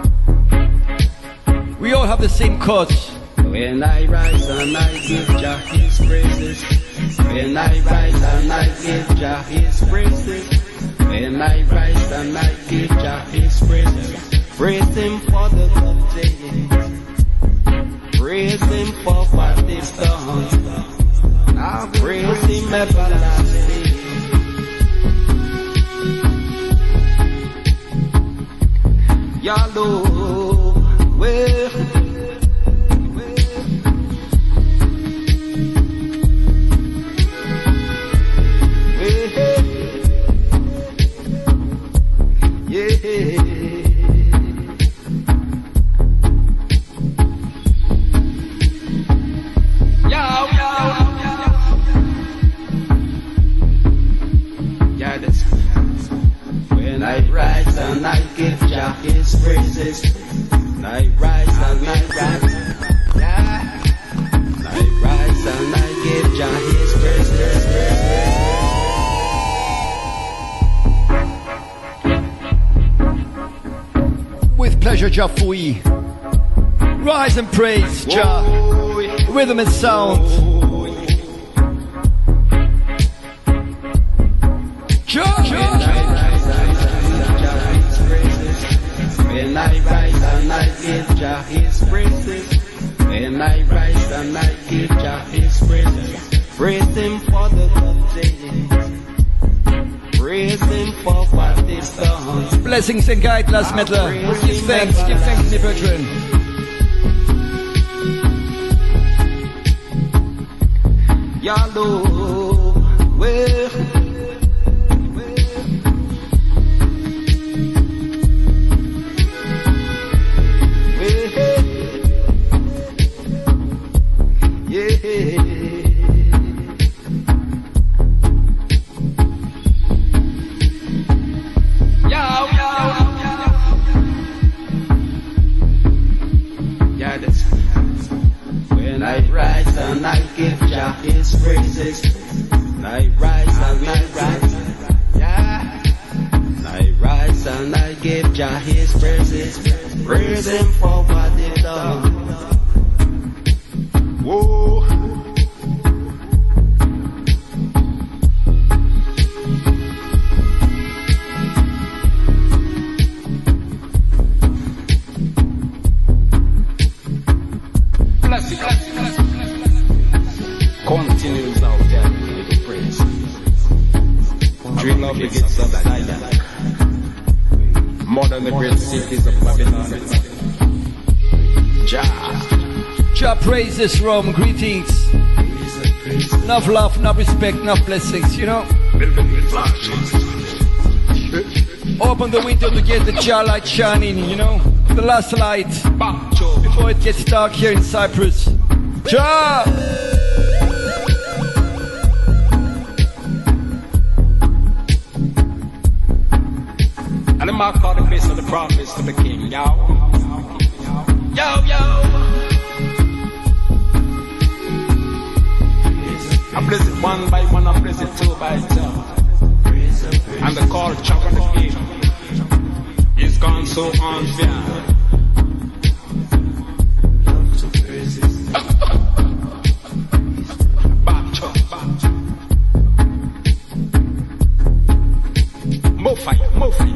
We all have the same cause. When I rise and I give Jah His praises. When I rise and I give Jah His praises. When I rise and I give Jah His praises. Praise Him for the good days. Praise Him for what He's done. Now praise Him everlasting. Your love will. When I rise and I give Jah His praises. I rise and I rise. I rise and I give Jah His praises. With pleasure, Jah Fui. Rise and praise Jah. Rhythm and sound. When I rise and I give Jah His praises. When I rise and I give Jah His praises. Praise Him for the good days. Praise Him for what He's done. Blessings and guidelines, Mettler. Give thanks, my brethren. Your love will. When I rise and I give Jah His praises. I rise and I rise. Yeah. I rise and I give Jah His praises. Praise Him for what He done. Whoa. Continues out there with the praise. Dream of the gates of Zion. More than the great cities of Babylon. Jah praise this room, greetings. Enough love, enough respect, enough blessings, you know. Open the window to get the Jah light shining, you know. The last light before it gets dark here in Cyprus. Jah! And the mark of the face of the promise to the king, yo. Yo, yo. I bless it one by one, I bless it two by two. And the call chop on the king is gone so unfair. More fight, more fight.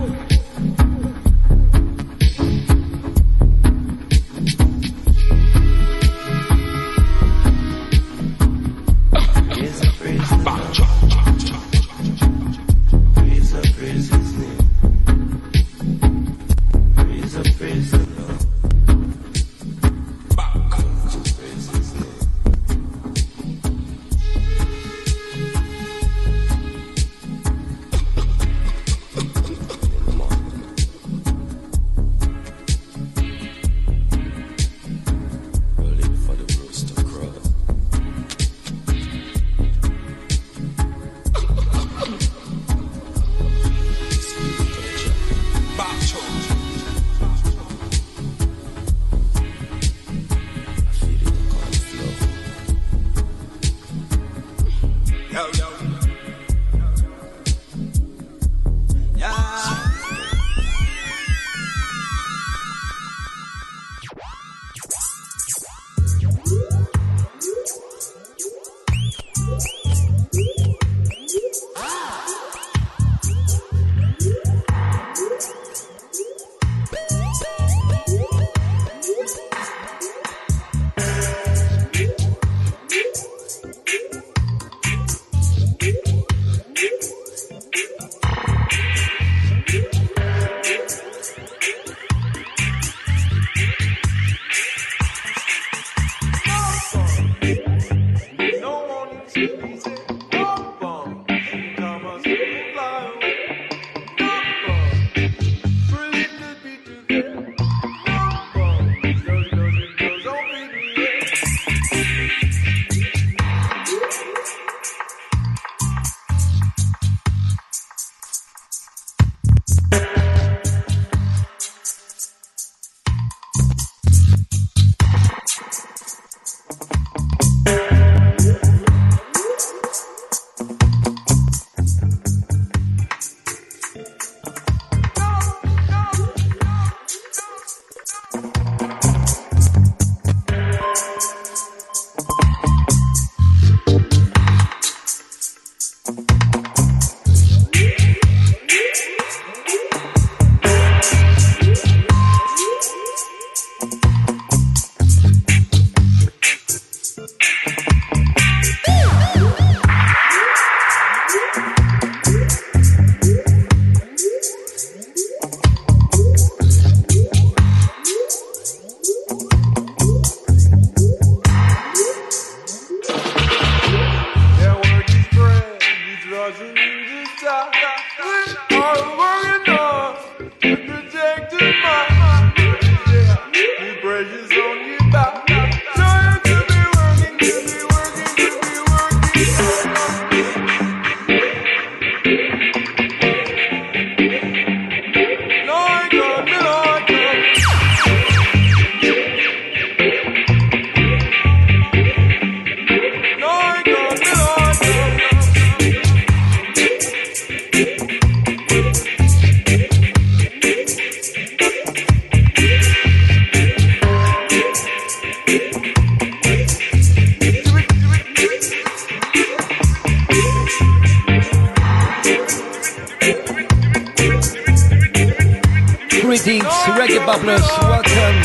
Greetings, reggae bubblers, welcome.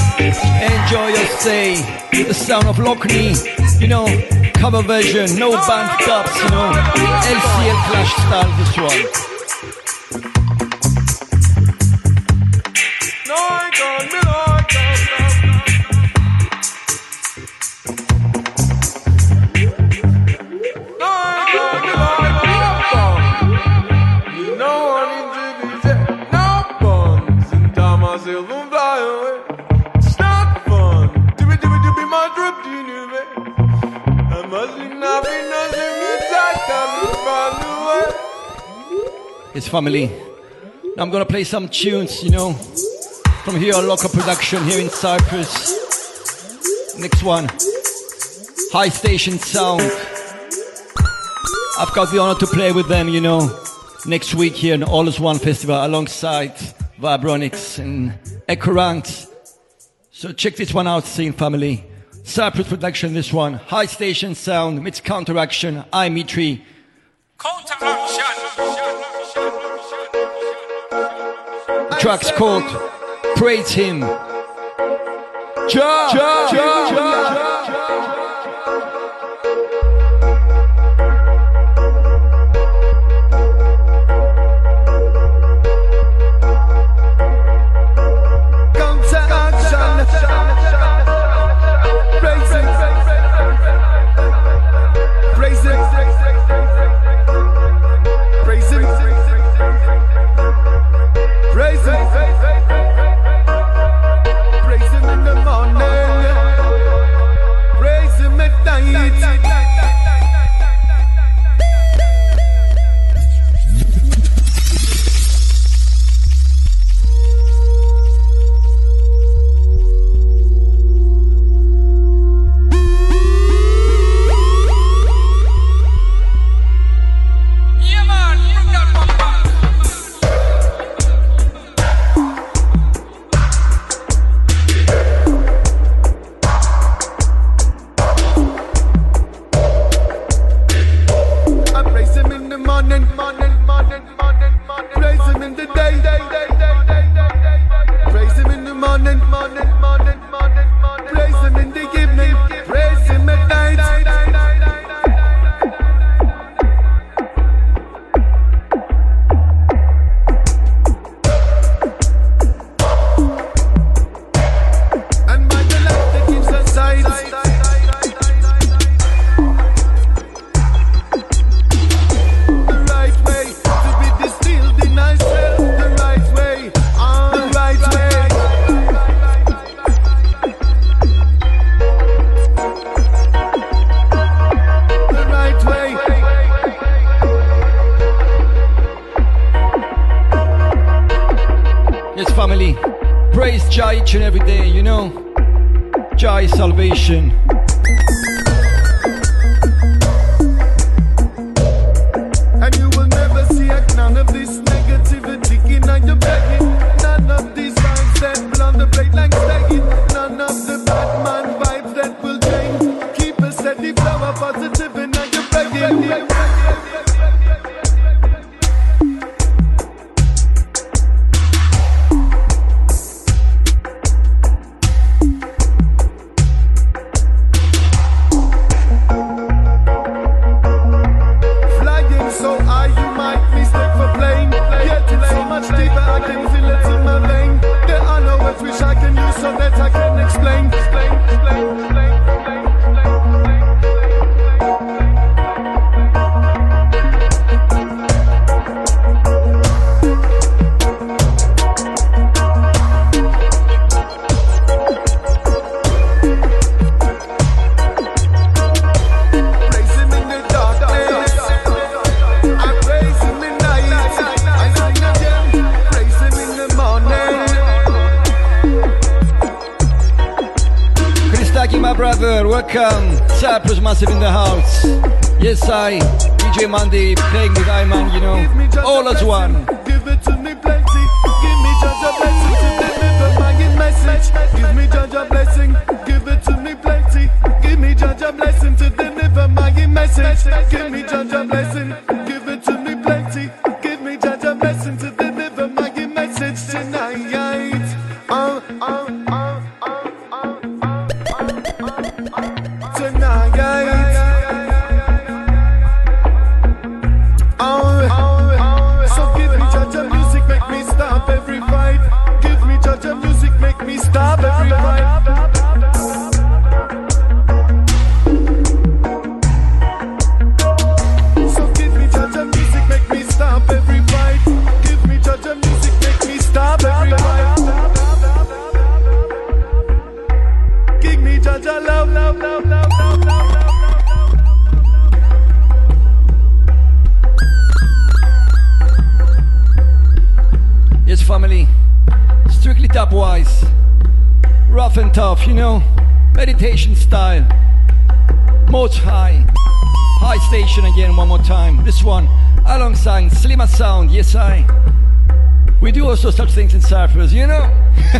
Enjoy your stay. The sound of Lockney, you know, cover version, no band cups, you know, LCL Clash style, this one. myself and fly away. It's not fun. Dibby, my drip, baby. I must be not be nothing inside. Time to find a way. It's family. Now I'm gonna play some tunes, you know, from here on Local Production here in Cyprus. Next one, High Station Sound. I've got the honor to play with them, you know, next week here in All Is One Festival alongside Vibronics and Ecorant. So check this one out, Scene Family. Cyprus Production, this one. High Station Sound meets Counteraction. I'm Mitri. The track's called Praise Him. Each and every day, you know, Jah is salvation. And you will never see none of this negativity in your begging. None of these vibes that blow the plate like stagging. None of the Batman vibes that will change. Keep a steady flow of positive in your begging. Welcome, Cyprus Massive in the house. Yes, DJ Mandy playing with Iman, you know, all as one. Give it to me plenty. Give me just a blessing to deliver my message. Give me just a blessing. Give it to me plenty. Give me just a blessing to deliver my message. Give me just a blessing. Give it to me plenty. Give me just a blessing to deliver my message tonight. So give me judge of music, make me stop every fight. Give me judge of music, make me stop every fight. So give me judge of music, make me stop every fight. Give Yes, family. Strictly top wise. Rough and tough, you know. Meditation style. Most high. High station again one more time. This one alongside Slimmer Sound. Yes, I. We do also such things in Cyphers, you know.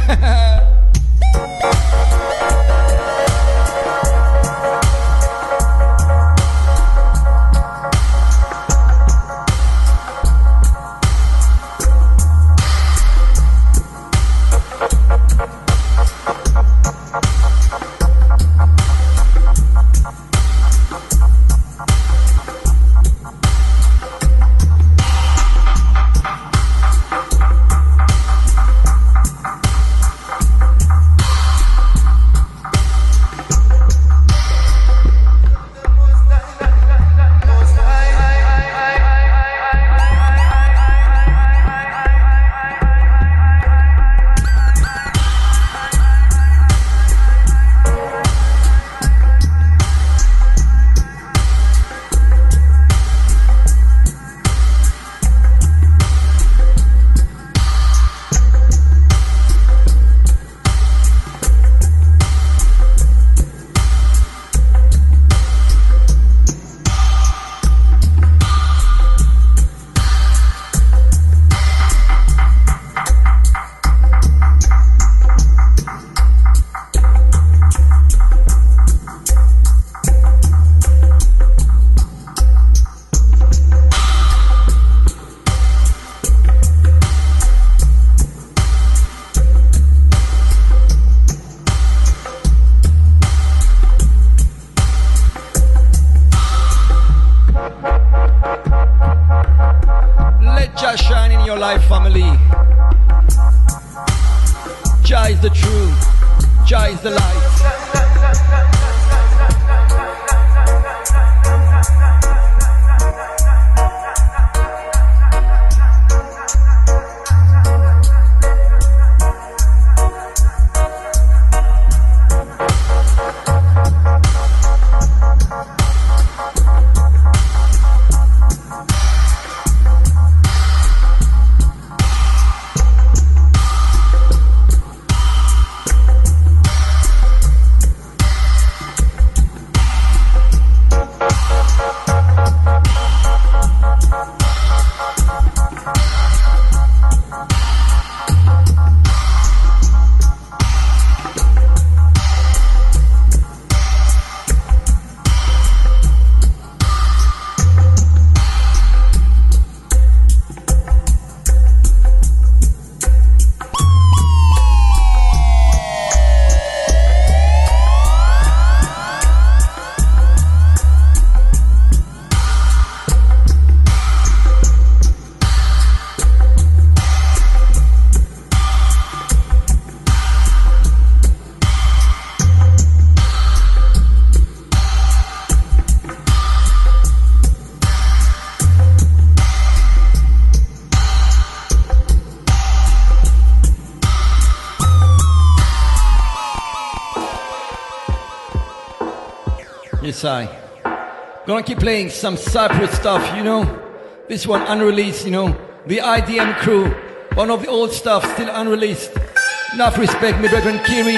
I gonna keep playing some Cyprus stuff, you know. This one unreleased, you know. The IDM crew, one of the old stuff still unreleased. Enough respect, my brethren Kiri,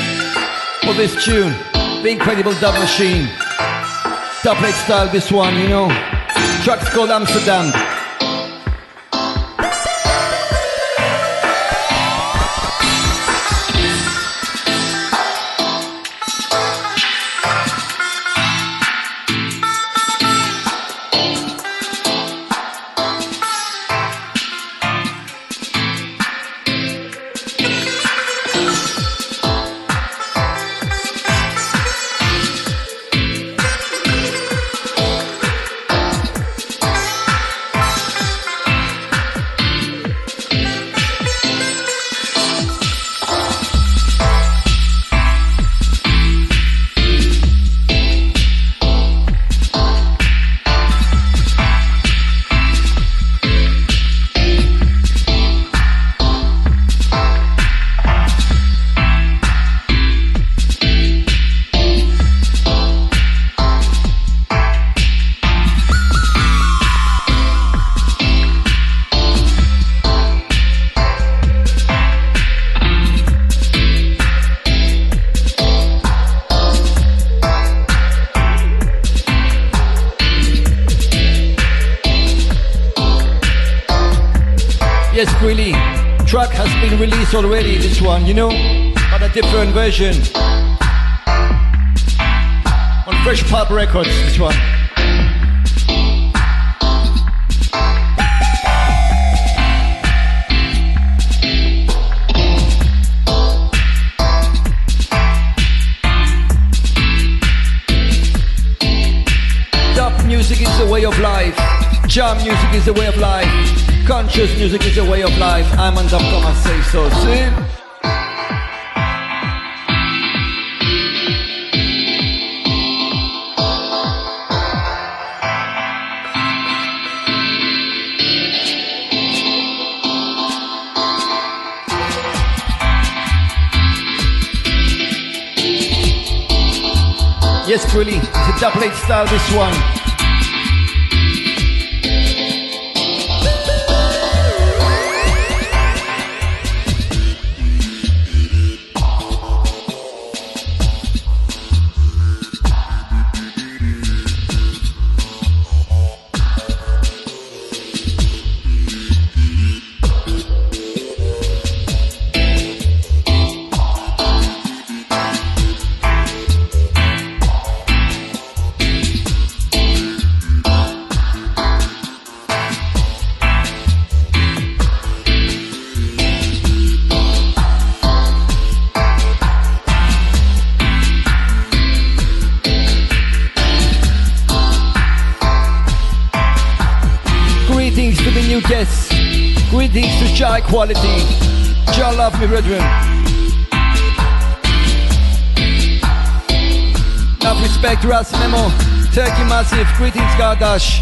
for this tune. The incredible dub machine. Top plate style, this one, you know. Track's called Amsterdam. Yes, really. Track has been released already, this one, you know? But a different version. On Fresh Pulp Records, this one. Dub music is the way of life. Jam music is the way of life. Conscious music is the way of life. I'm on Dub Thomas, say so. See? Yes, really, it's a double-eight style, this one. Greetings to the new guests. Greetings to Chai Quality. Jah love me, brethren. Enough respect, Ras Memo. Turkey Massive. Greetings, Gardash.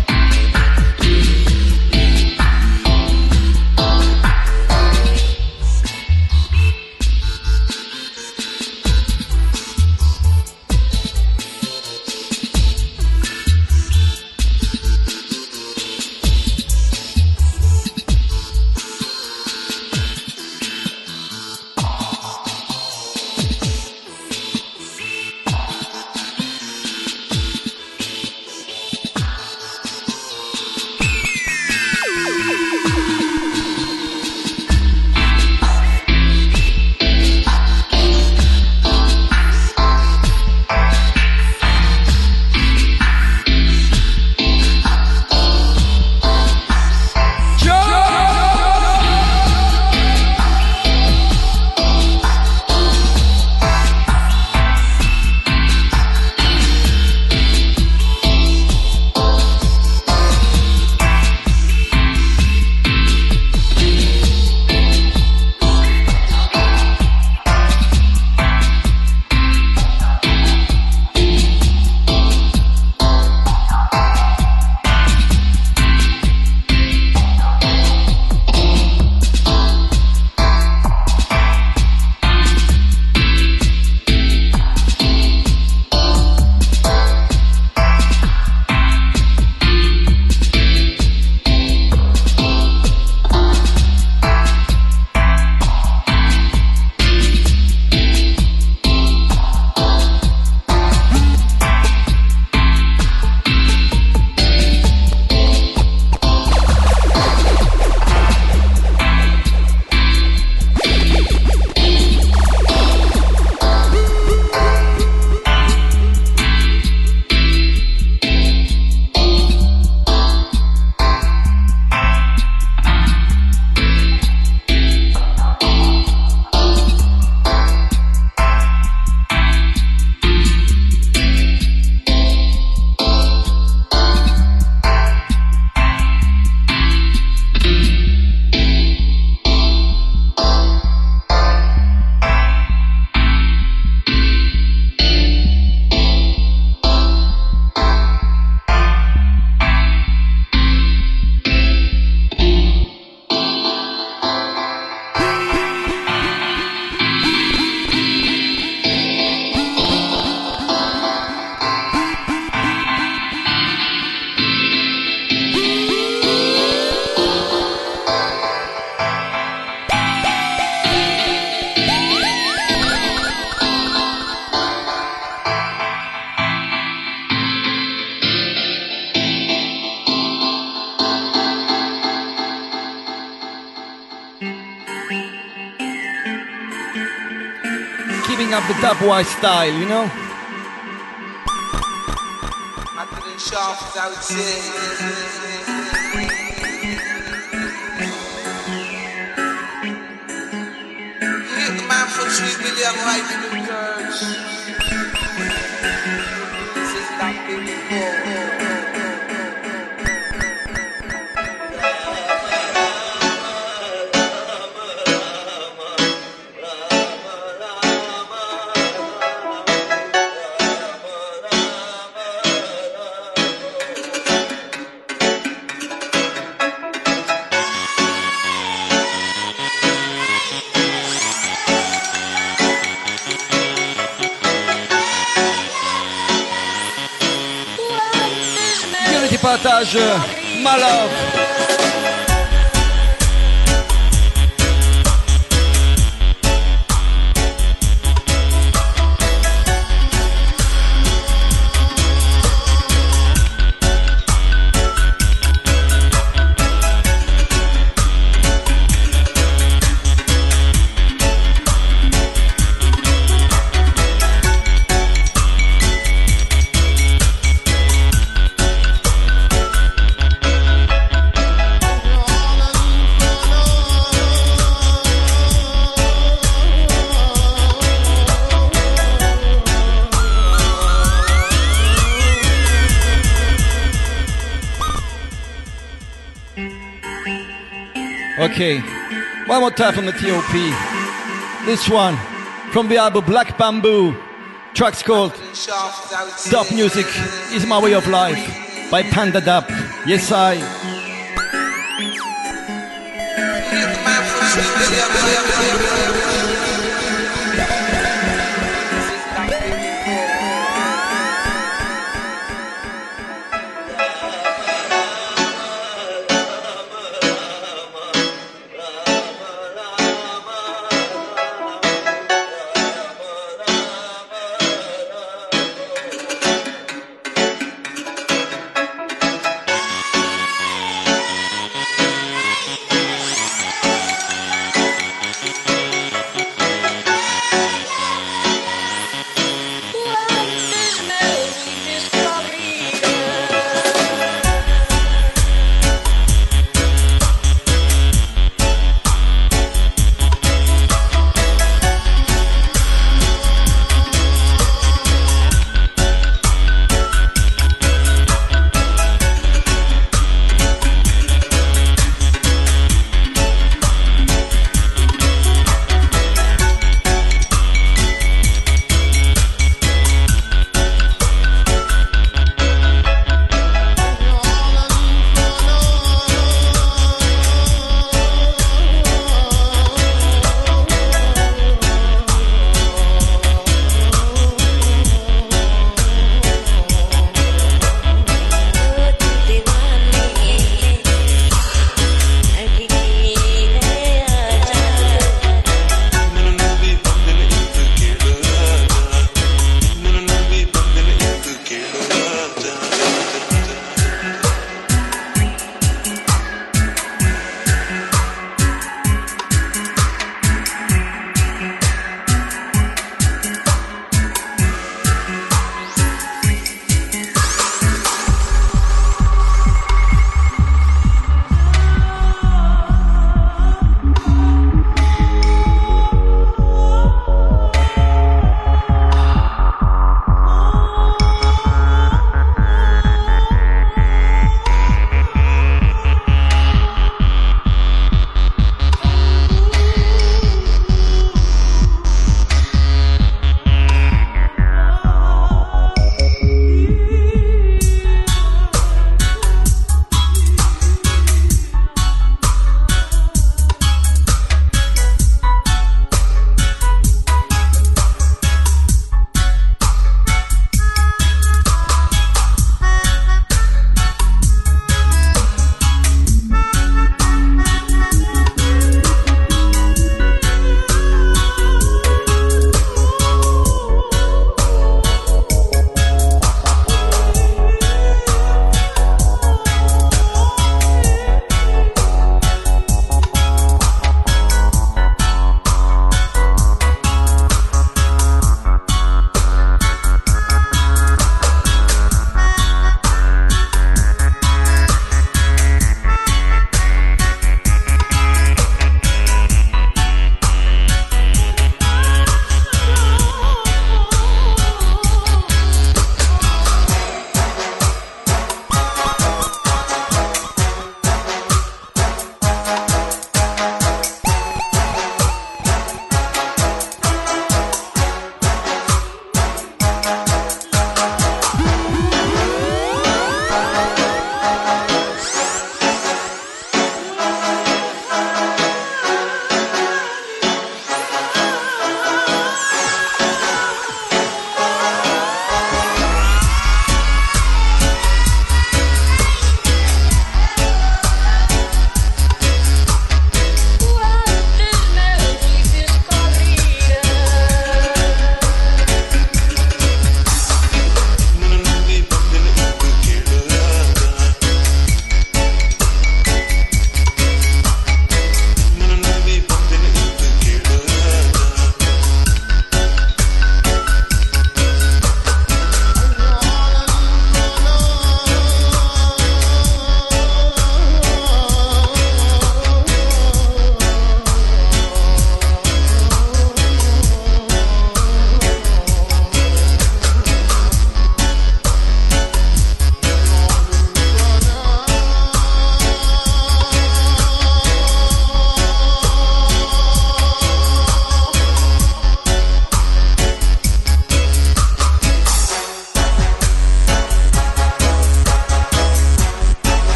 Keeping up the dubwise style, you know? I couldn't sharp as I would say. Hit the man for 3 million right in the church. This is like before. Partage, my love. Okay, one more time from the TOP. This one from the album Black Bamboo. Track's called Dub Music is My Way of Life by Panda Dub. Yes, I.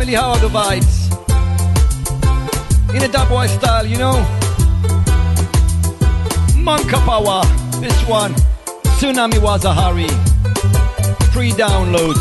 Family, how are the vibes? In a dub boy style, you know. Manka Power, this one. Tsunami was a hurry. Free download.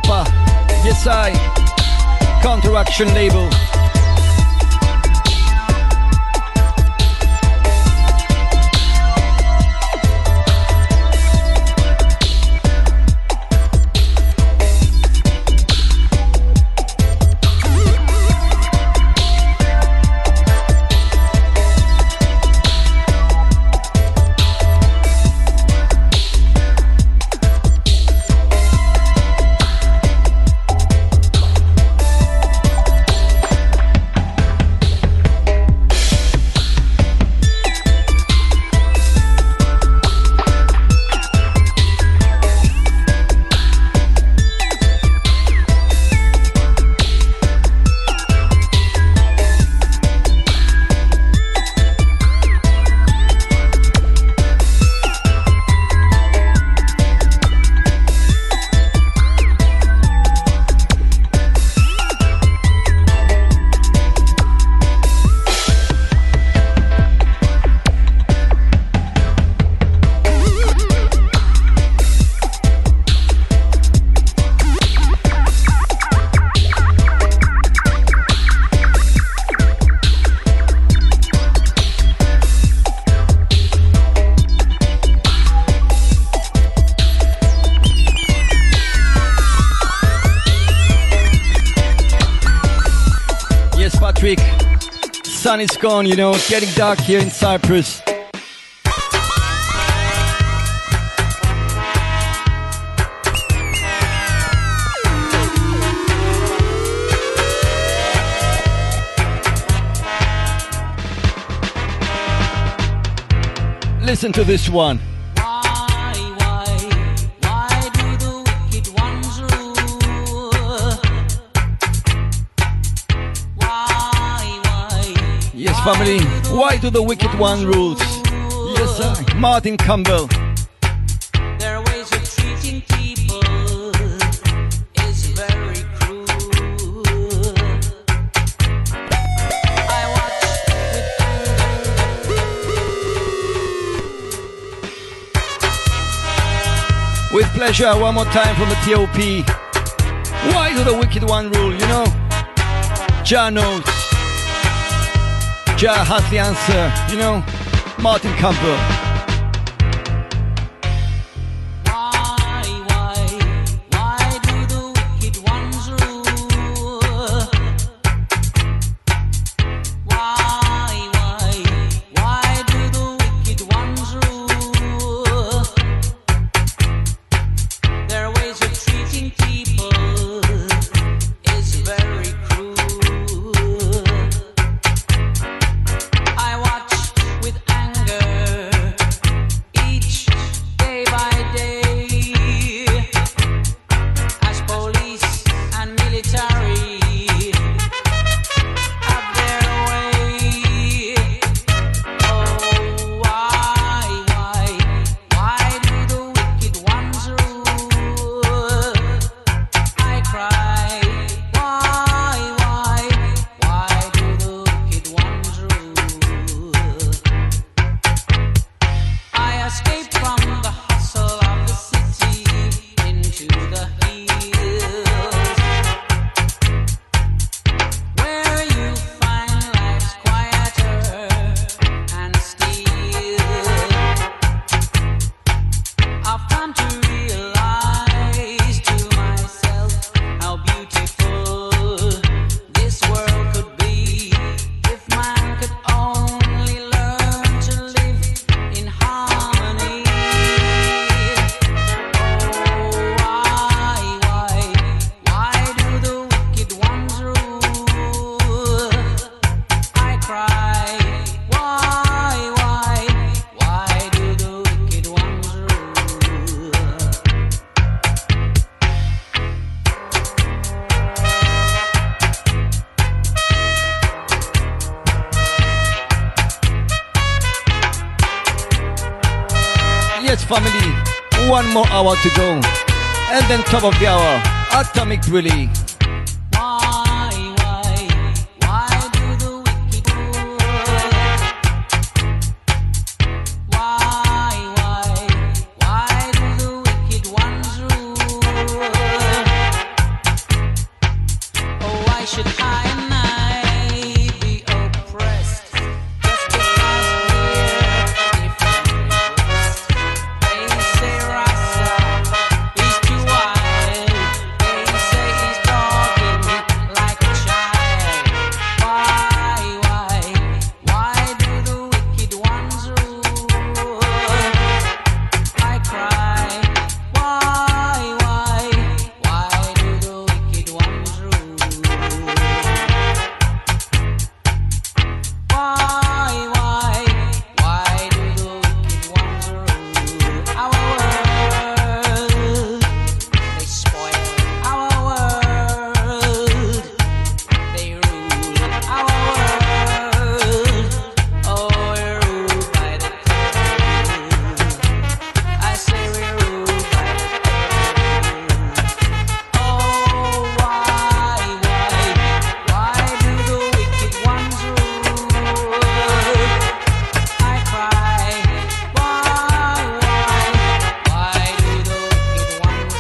Stepper. Yes, I. Counteraction label. Sun is gone, you know, it's getting dark here in Cyprus. Listen to this one. Family, why do the wicked one rules? Yes, sir. Martin Campbell. Their ways of treating people is very cruel. I watch with pleasure, one more time from the TOP. Why do the wicked one rule, you know? Jah knows. Jah has the answer, you know, Martin Campbell. Why do the wicked ones rule? Why do the wicked ones rule? Their ways of treating people is very cruel. Family, one more hour to go, and then top of the hour, Atomic Willie. should I and I be oppressed just because we're different races? They say Rasta is too wild. They say he's talking like a child. Why do the wicked ones rule? I cry. Why do the wicked ones rule? Why do the wicked ones rule our world? They spoil our world. They rule our world. Oh, we're ruled by the devil. I say we're ruled by the devil. Oh, why do the wicked ones rule? I cry. Why do the wicked ones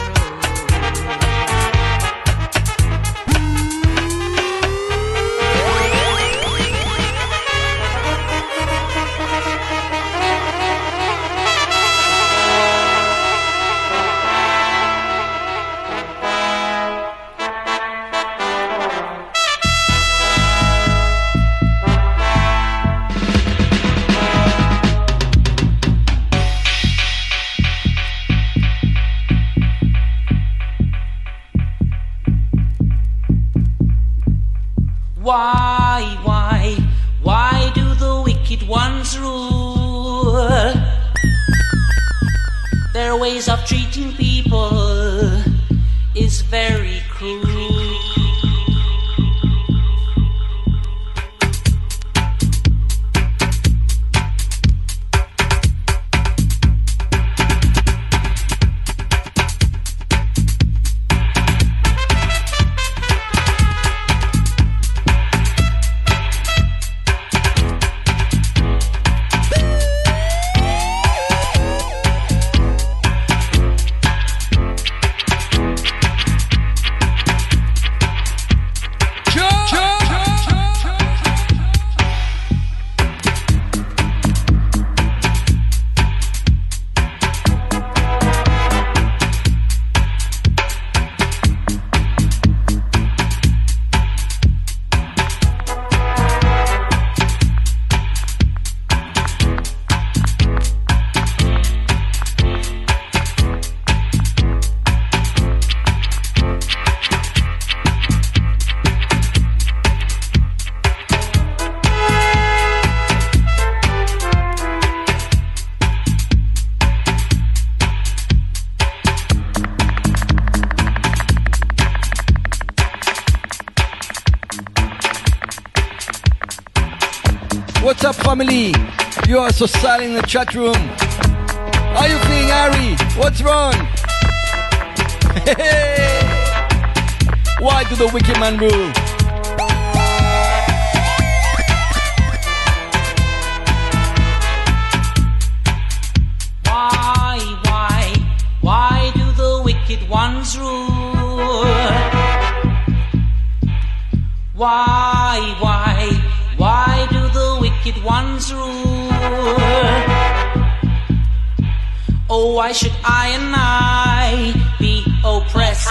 Why do the wicked ones rule? Their ways of treating people is very cruel. What's up, family? You are so silent in the chat room. How you feeling, Harry? What's wrong? Why do the wicked man rule? Why do the wicked ones rule? Why do the wicked ones rule? Oh, why should I and I be oppressed?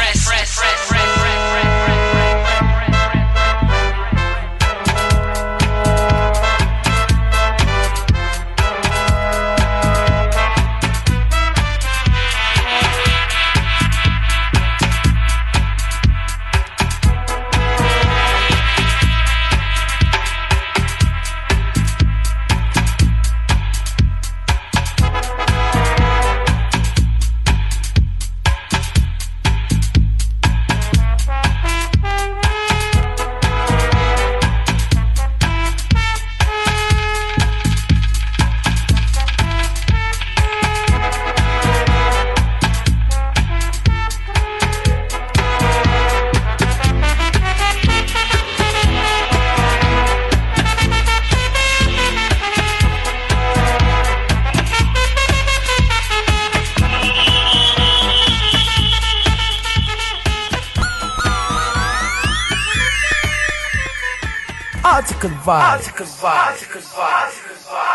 Article Vibes.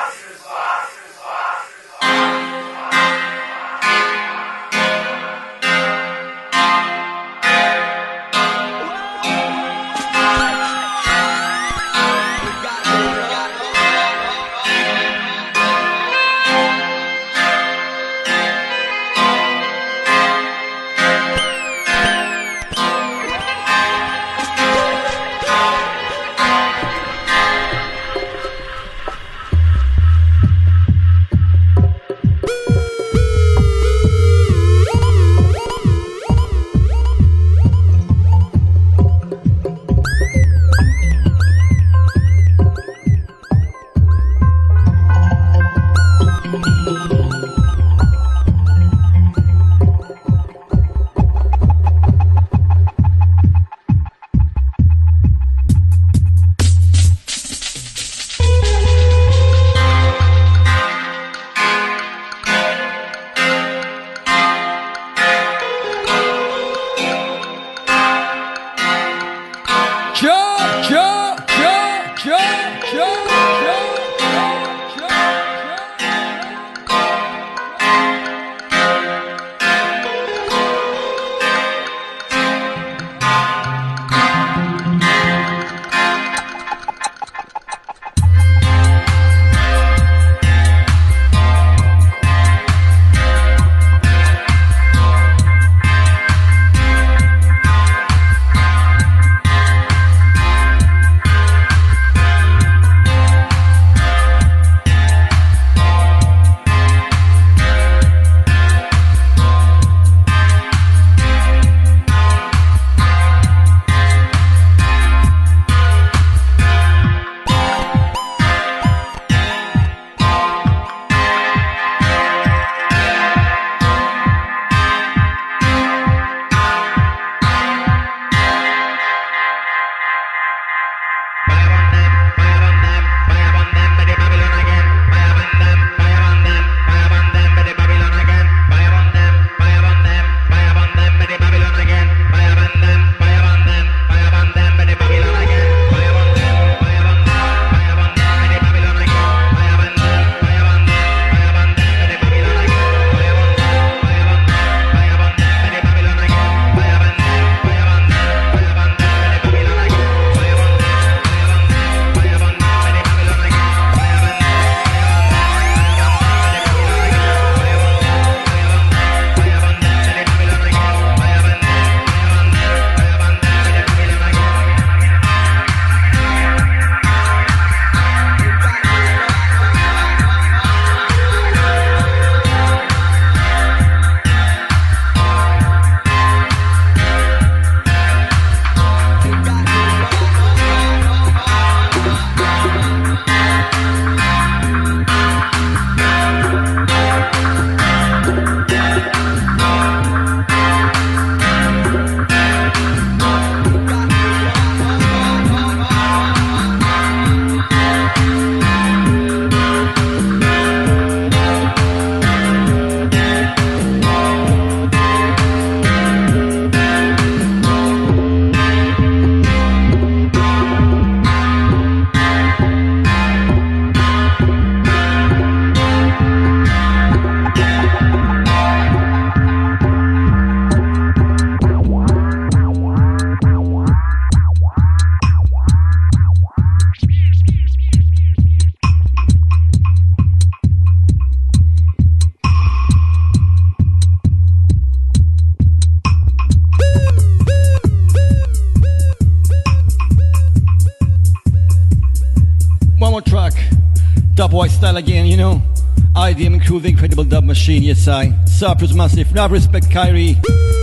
Dubwise style again, you know. IDM and crew, the incredible dub machine, yes I. Cyprus Massive, now respect Kyrie.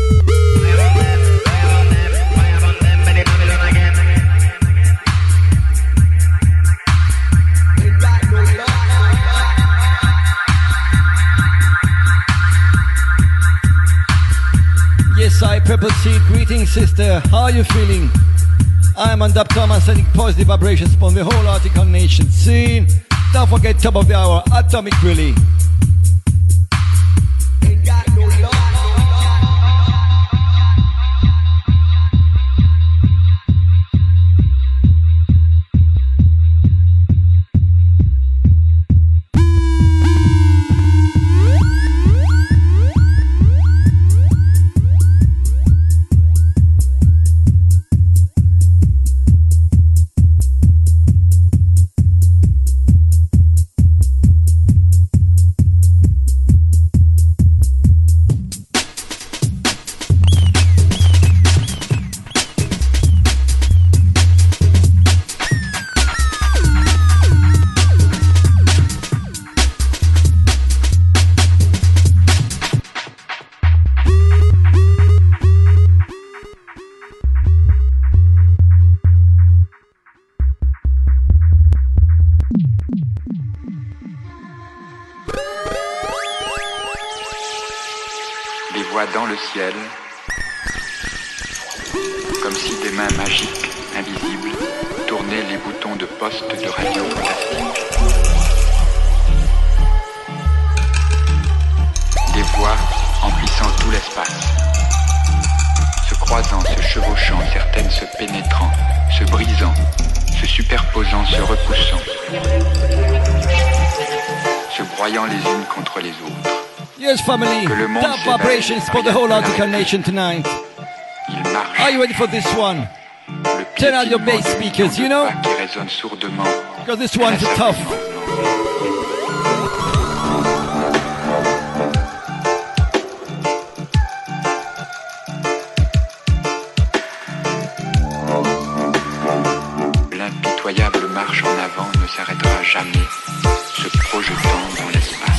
Yes I, Purple Seed, greetings sister, how are you feeling? I'm on Dub Thomas sending positive vibrations upon the whole Article Nation scene. Don't forget top of the hour, Atomic Really. voix dans le ciel, comme si des mains magiques, invisibles, tournaient les boutons de poste de radio fantastique. Des voix emplissant tout l'espace, se croisant, se chevauchant, certaines se pénétrant, se brisant, se superposant, se repoussant, se broyant les unes contre les autres. Yes, family. Top vibrations for the whole Article Nation tonight. Are you ready for this one? Turn out your bass speakers, you know? Qui résonne sourdement. Because this one's tough. L'impitoyable marche en avant ne s'arrêtera jamais, se projetant dans l'espace.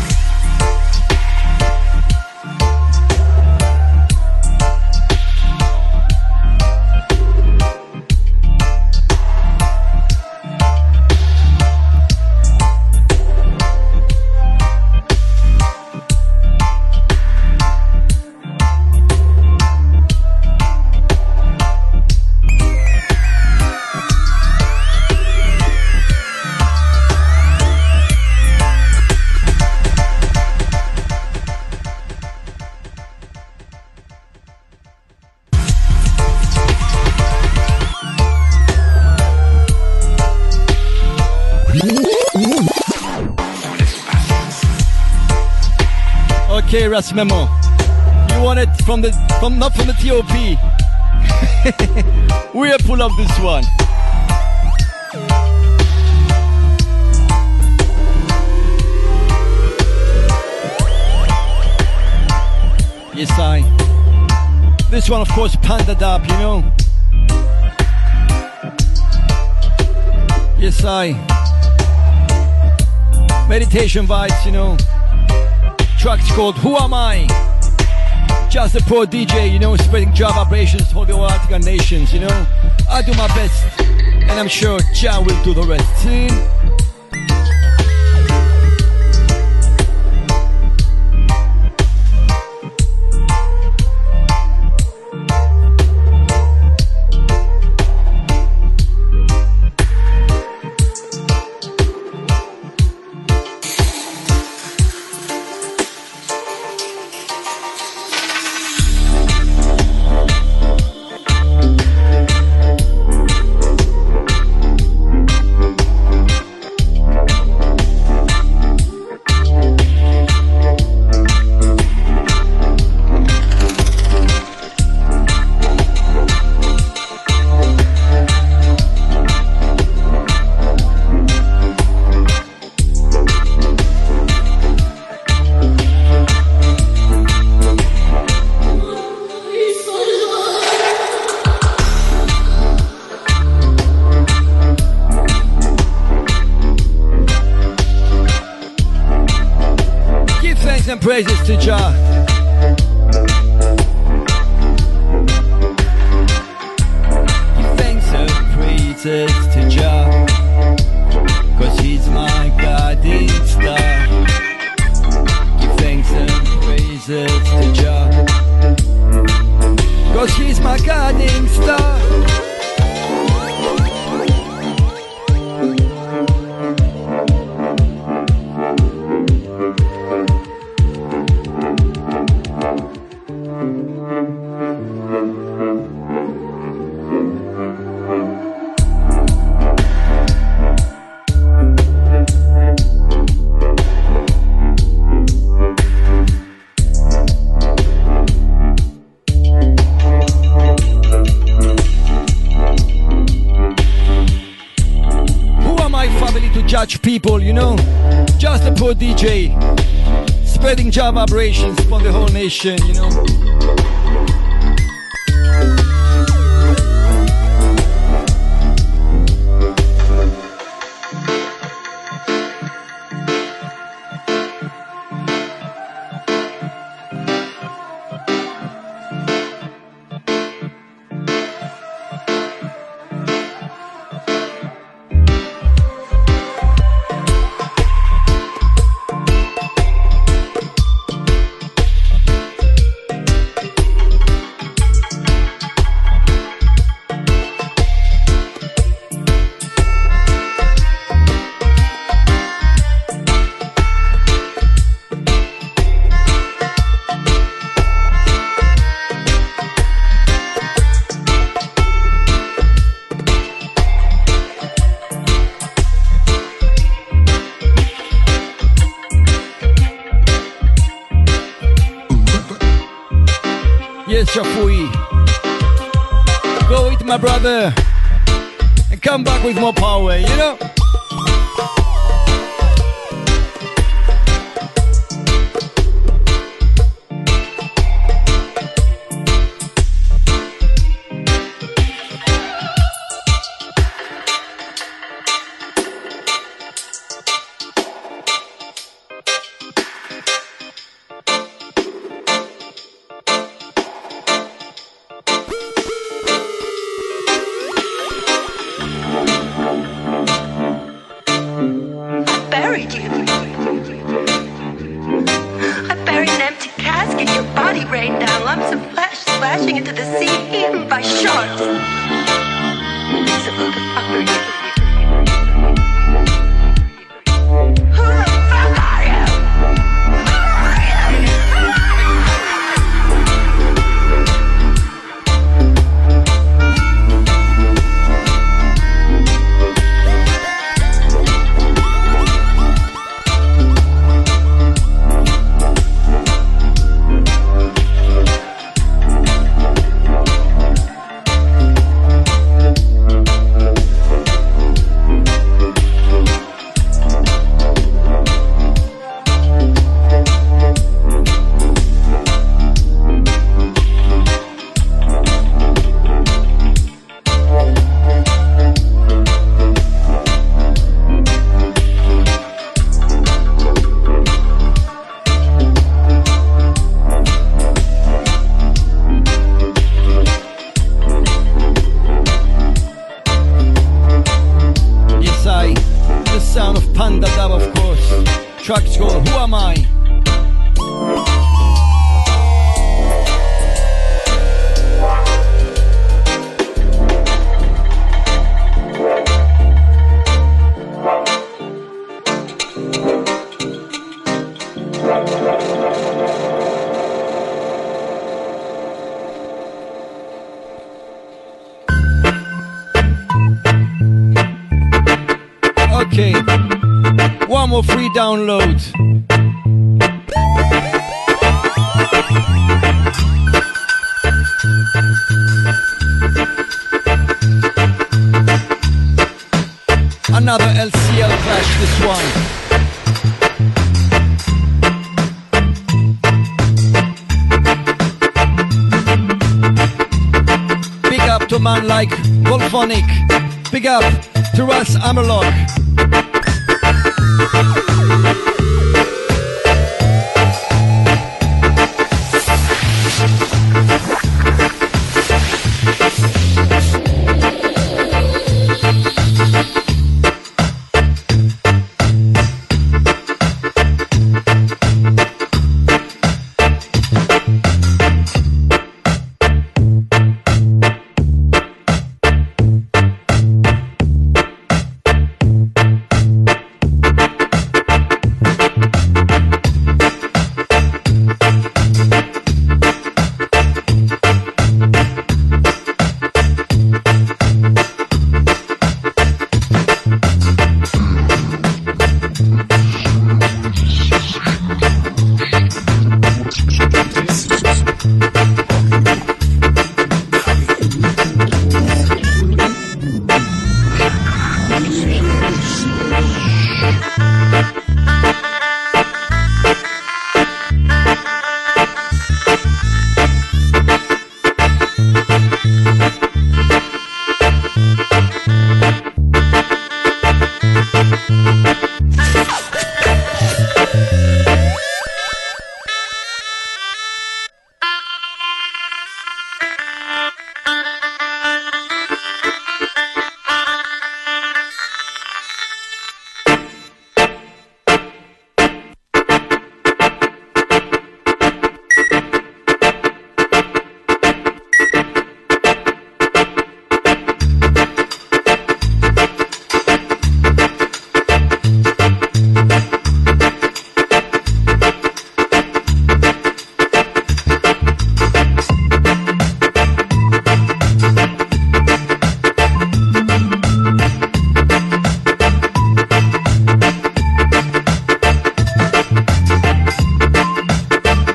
Okay, Ras Memo. You want it not from the TOP. We'll pull up this one. Yes, I. This one, of course, Panda Dab, you know. Yes, I. Meditation vibes, you know. Track's called Who Am I? Just a pro DJ, you know, spreading job vibrations for the whole Article Nations, you know. I do my best, and I'm sure Jah will do the rest. See? And praises to Jah. Give thanks and praises to Jah, 'cause he's my guiding star. Give thanks and praises to Jah, 'cause he's my guiding star. Judge people, you know, just a poor DJ, spreading job vibrations for the whole nation, you know. my brother, and come back with more power, you know? Buried you. I buried an empty casket. Your body rained down lumps of flesh, splashing into the sea, eaten by sharks. So who the fuck are you? Who the fuck are you? Tracks called Who Am I? Okay, one more free download. Another LCL clash, this one. Big up to man like Volphonic. Big up to Russ Amerlock.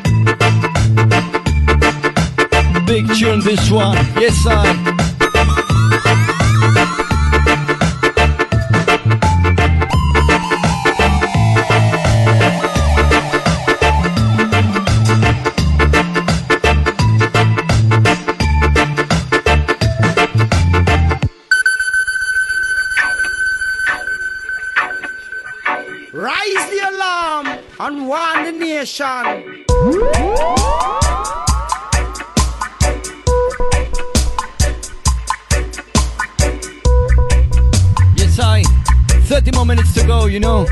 This one, yes I. and warn the nation. Yes, 30 more minutes to go, you know.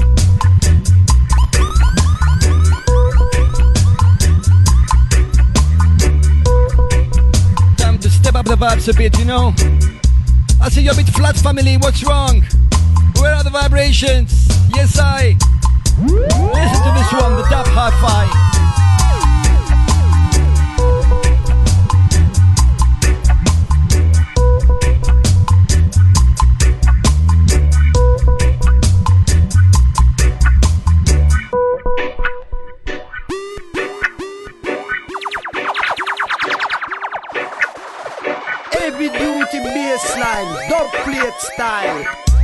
Time to step up the vibes a bit, you know. I see you're a bit flat, family. What's wrong? Where are the vibrations? Yes, listen to this one, the Dub Hi-Fi. Heavy duty bassline, dub plate style.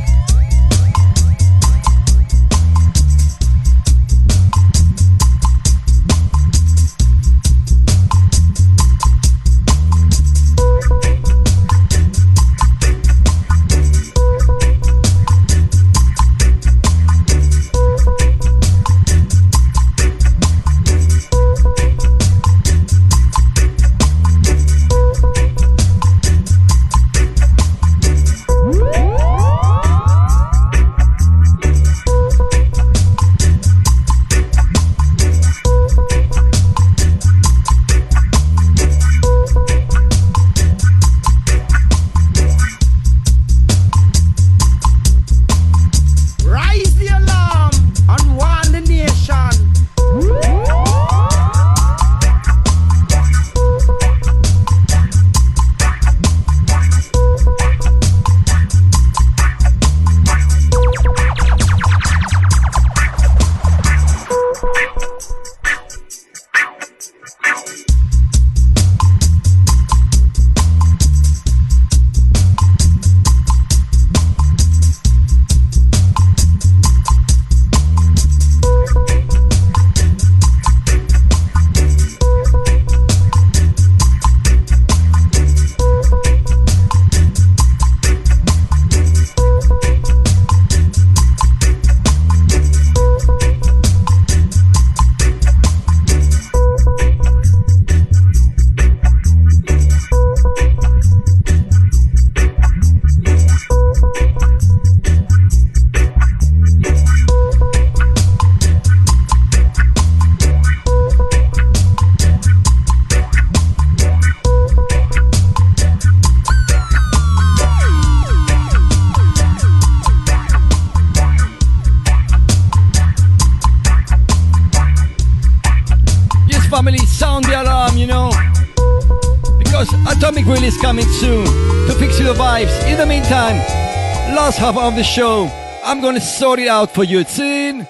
Atomic Grill is coming soon to fix you the vibes. In the meantime, last half of the show, I'm gonna sort it out for you. It's in.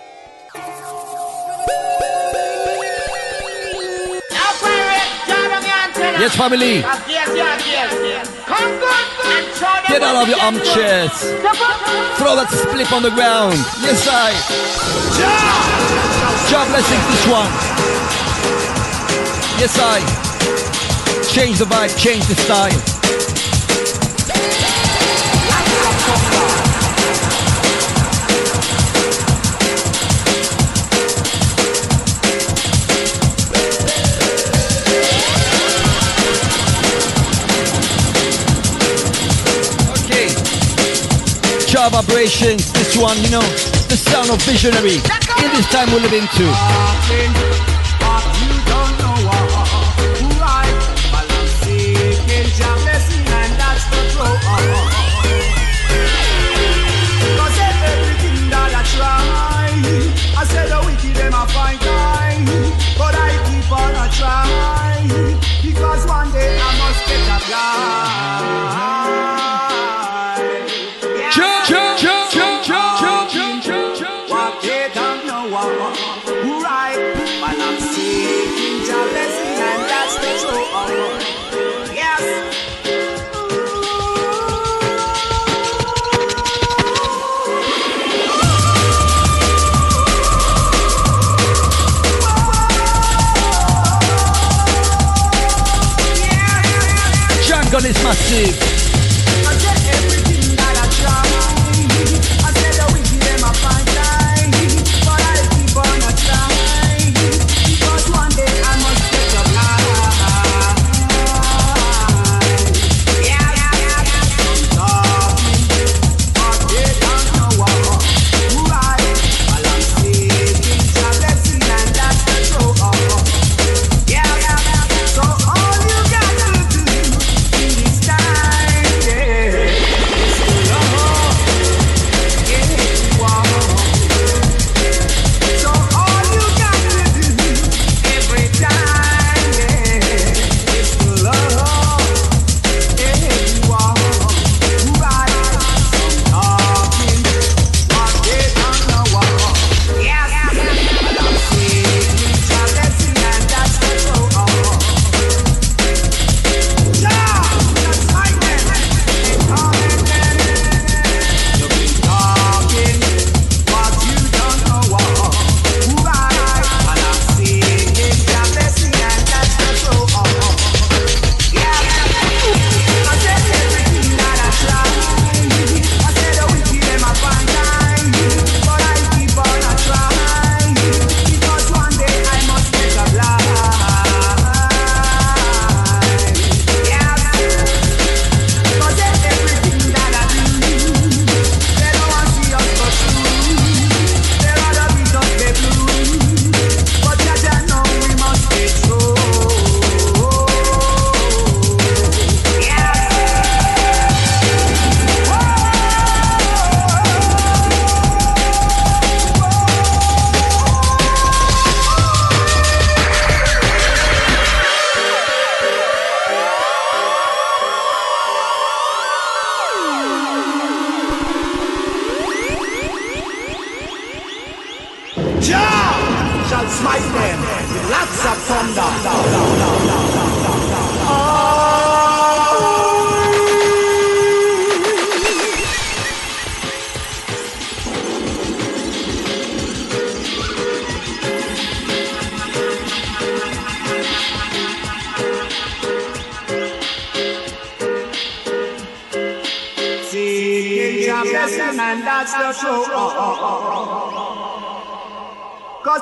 Yes, family. Get out of your armchairs. Throw that split on the ground. Yes, Job blessings this one. Yes, change the vibe, change the style. Okay. Job vibrations, this one, you know, the sound of visionary. In this time we live into. Because one day I must get a what they don't know who right, but I'm seeking your blessing, and that's the truth. Yes. God is massive. I said everything that I try. I said the wicked them I find time, but I keep on a try. shall smite them with lots of thunder. Seeking your blessing, and that's the truth. Cause.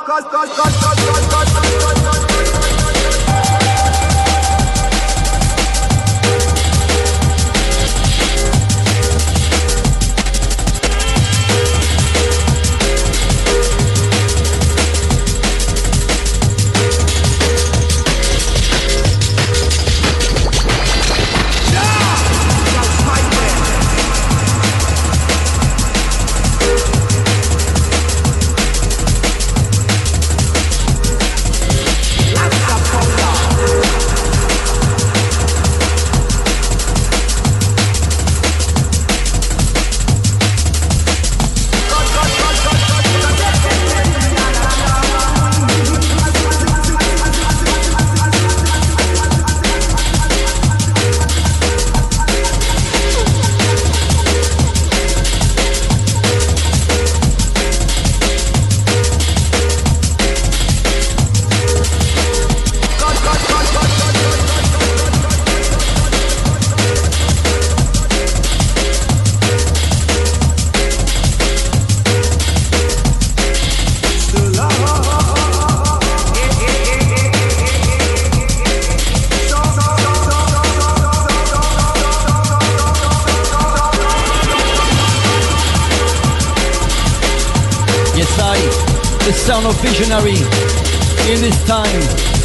Sound of visionary in this time.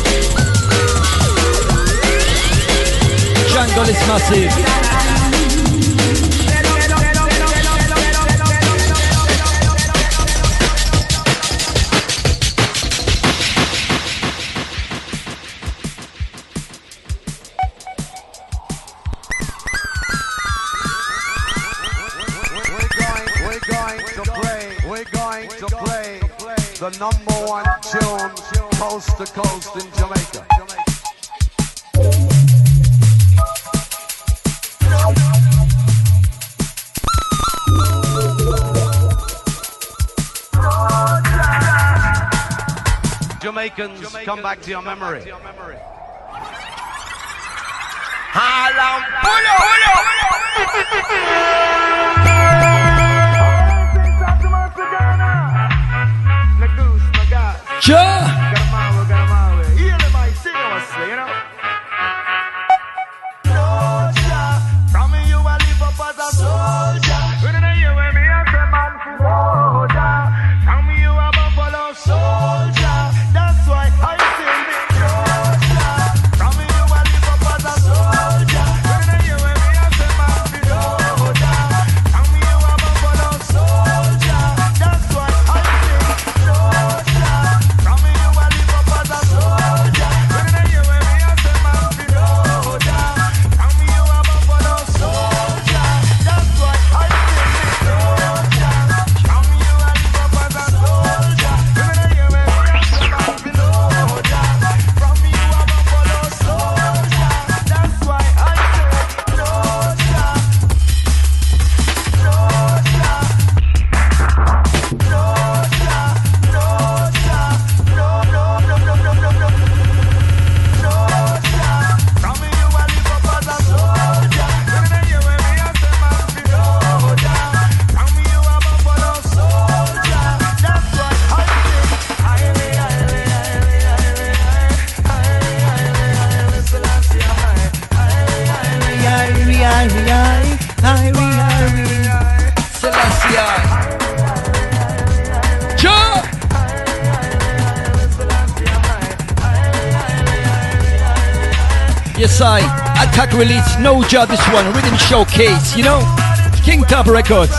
Jungle is massive. The number one tune coast to coast in Jamaica. Jamaicans, come back to your memory. Yes, Attack release, no job this one, rhythm showcase, you know, King Top Records.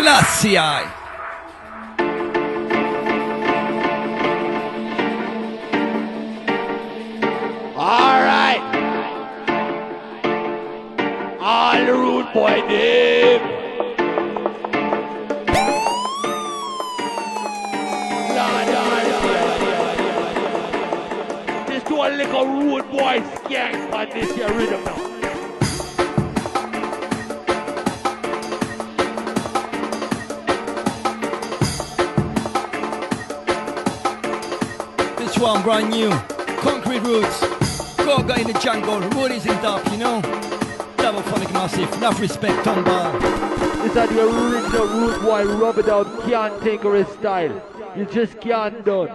Selassie I. All right. All the rude boy Dave. This do a little rude boy skank on this here rhythm now. This one brand new. Concrete Roots. Goga in the jungle. Roadies in top, you know. Double phonic massive. Enough respect, Tomball. This is the original rude boy, rub it out, can't take her style. You just can't done.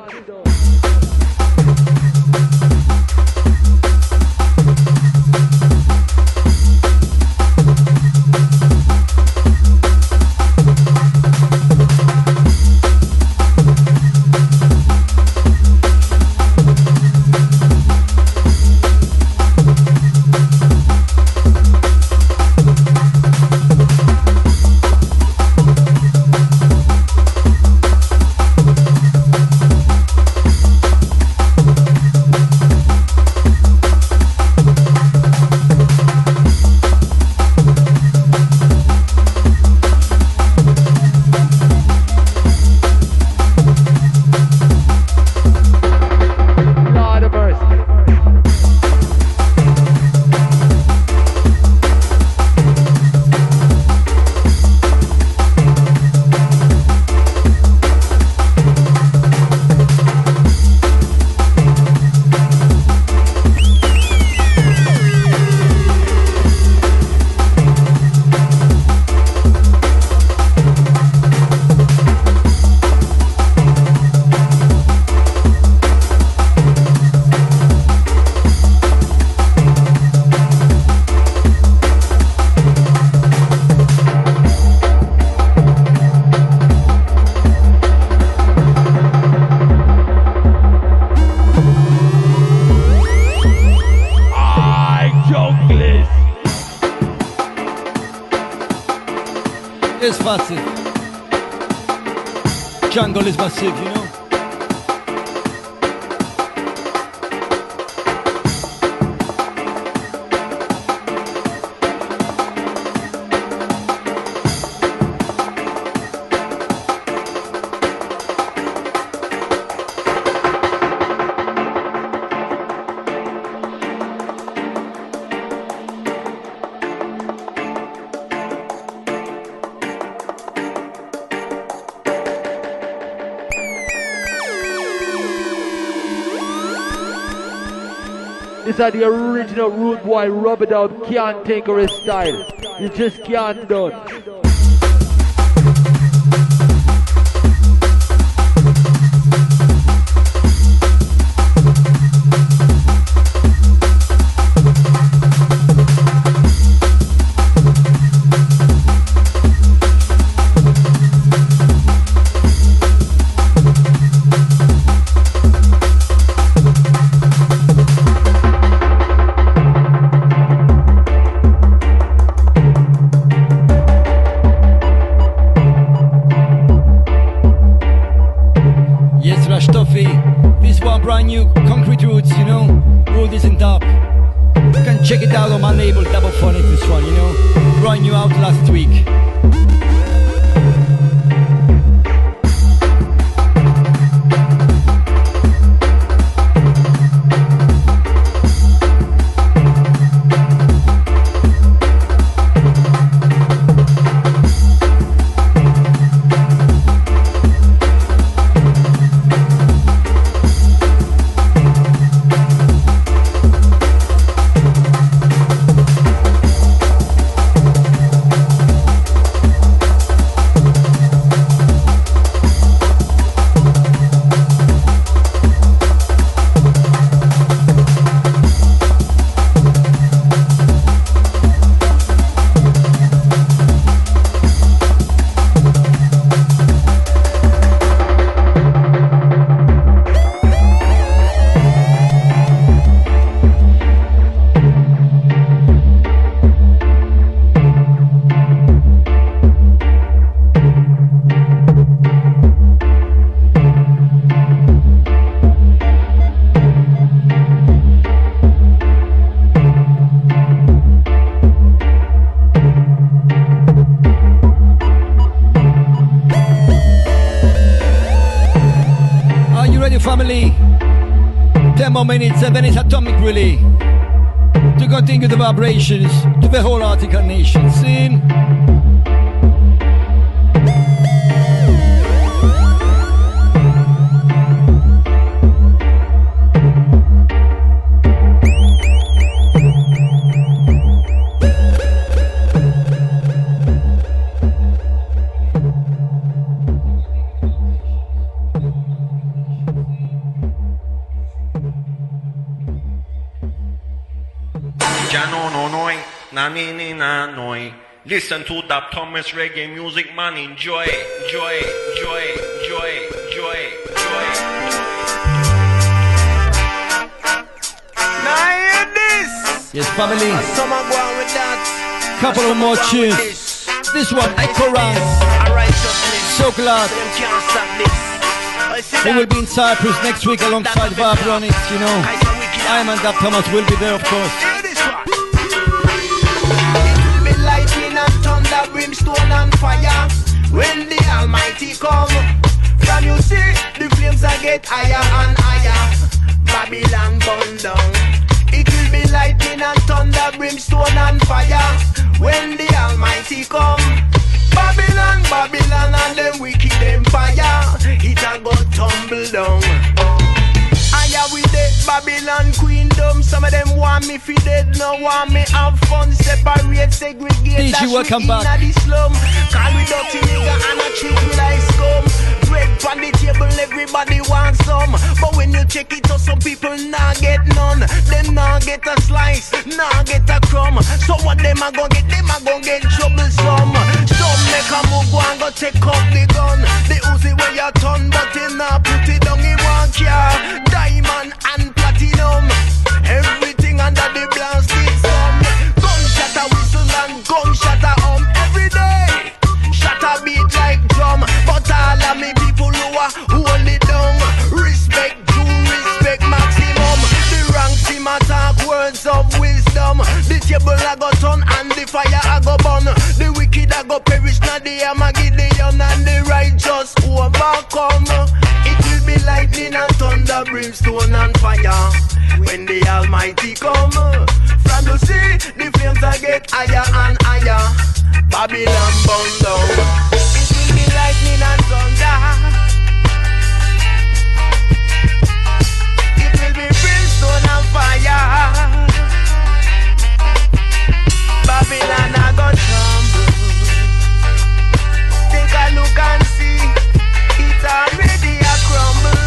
It's massive. Jungle is massive, you know. These are the original rude boy, rub it out, can't take her style. You just can't done. This one brand new, Concrete Roots, you know, Road is in top. You can check it out on my label, Double Phonic, this one, you know, brand new out last week. more minutes and then it's atomic relay to continue the vibrations to the whole Arctic nation scene. Listen to that Thomas reggae music, man. Enjoy, enjoy, enjoy, enjoy, enjoy, enjoy. Now hear this. Yes, family. Someone go on with that. Couple of more tunes. This one, Echo Ranks. So glad. We will be in Cyprus next week alongside Vibronics, you know. I and Dab Thomas will be there, of course. Lightning and thunder, brimstone and fire. When the Almighty come, from you see the flames are get higher and higher. Babylon burn down. It will be lightning and thunder, brimstone and fire. When the Almighty come, Babylon, Babylon and them wicked empire, it a go tumble down. Aya with the Babylon queendom. Some of them want me fi dead, no want me have fun. Separate, segregate, DJ, welcome back. The slum. Call we dirty nigga and a treat me like scum. Bread on the table, everybody wants some. But when you check it out, some people nah get none. Them nah get a slice, nah get a crumb. So what them a gon' get? Them a gon' get troublesome. Some make a move, go and go take up the gun. The Uzi where you turn, but they nah put it down in one car. Diamond and platinum, everything under the blasted sun. Gunshot a whistle and gunshot a every day. Shot a beat like drum, but all of me people who are hold it down. Respect true, respect maximum. The ranks him attack words of wisdom. The table a go turn and the fire a go burn. The wicked a go perish, now the Armageddon and the righteous overcome. It will be lightning and thunder, brimstone and fire. When the Almighty come, from the sea the flames a get higher and higher. Babylon burn down. It will be lightning and thunder. It will be brimstone and fire. Babylon a go tumble. Take a look and see, it already a crumble.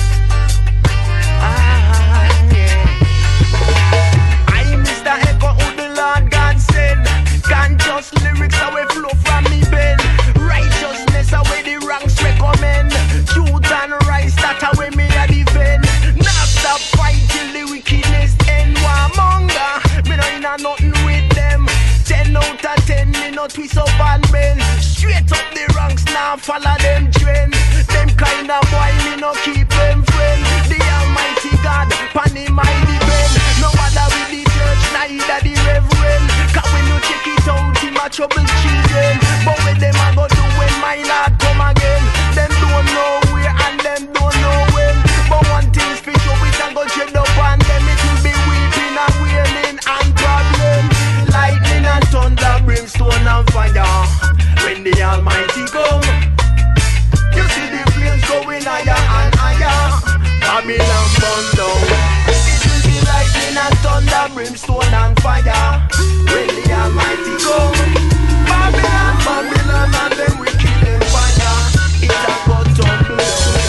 I Mr. Echo who the Lord God send. Conscious lyrics away flow from me pen. Righteousness away the ranks recommend. Truth and rights that away me a defend. Not stop fight till the wickedness end. Warmonger, me no inna nothing with them. 10 out of 10, me no twist up and bend. Straight up the ranks, now follow them trend. Them kind of boy, me no keep them friend. The Almighty God, pan him I depend. No bother with the church, neither the reverend. Cause when you check it out, him a trouble children. But when them a go do when my Lord come again, them don't know where and them don't know when. But one thing's for sure, we can go trade up on them. It will be weeping and wailing and problem. Lightning and thunder, brimstone and fire. When the Almighty come, you see the flames going higher and higher. Babylon burn down. It will be lightning and thunder, brimstone and fire. When the Almighty come, Babylon, Babylon and them wicked empire, it a go tumble down.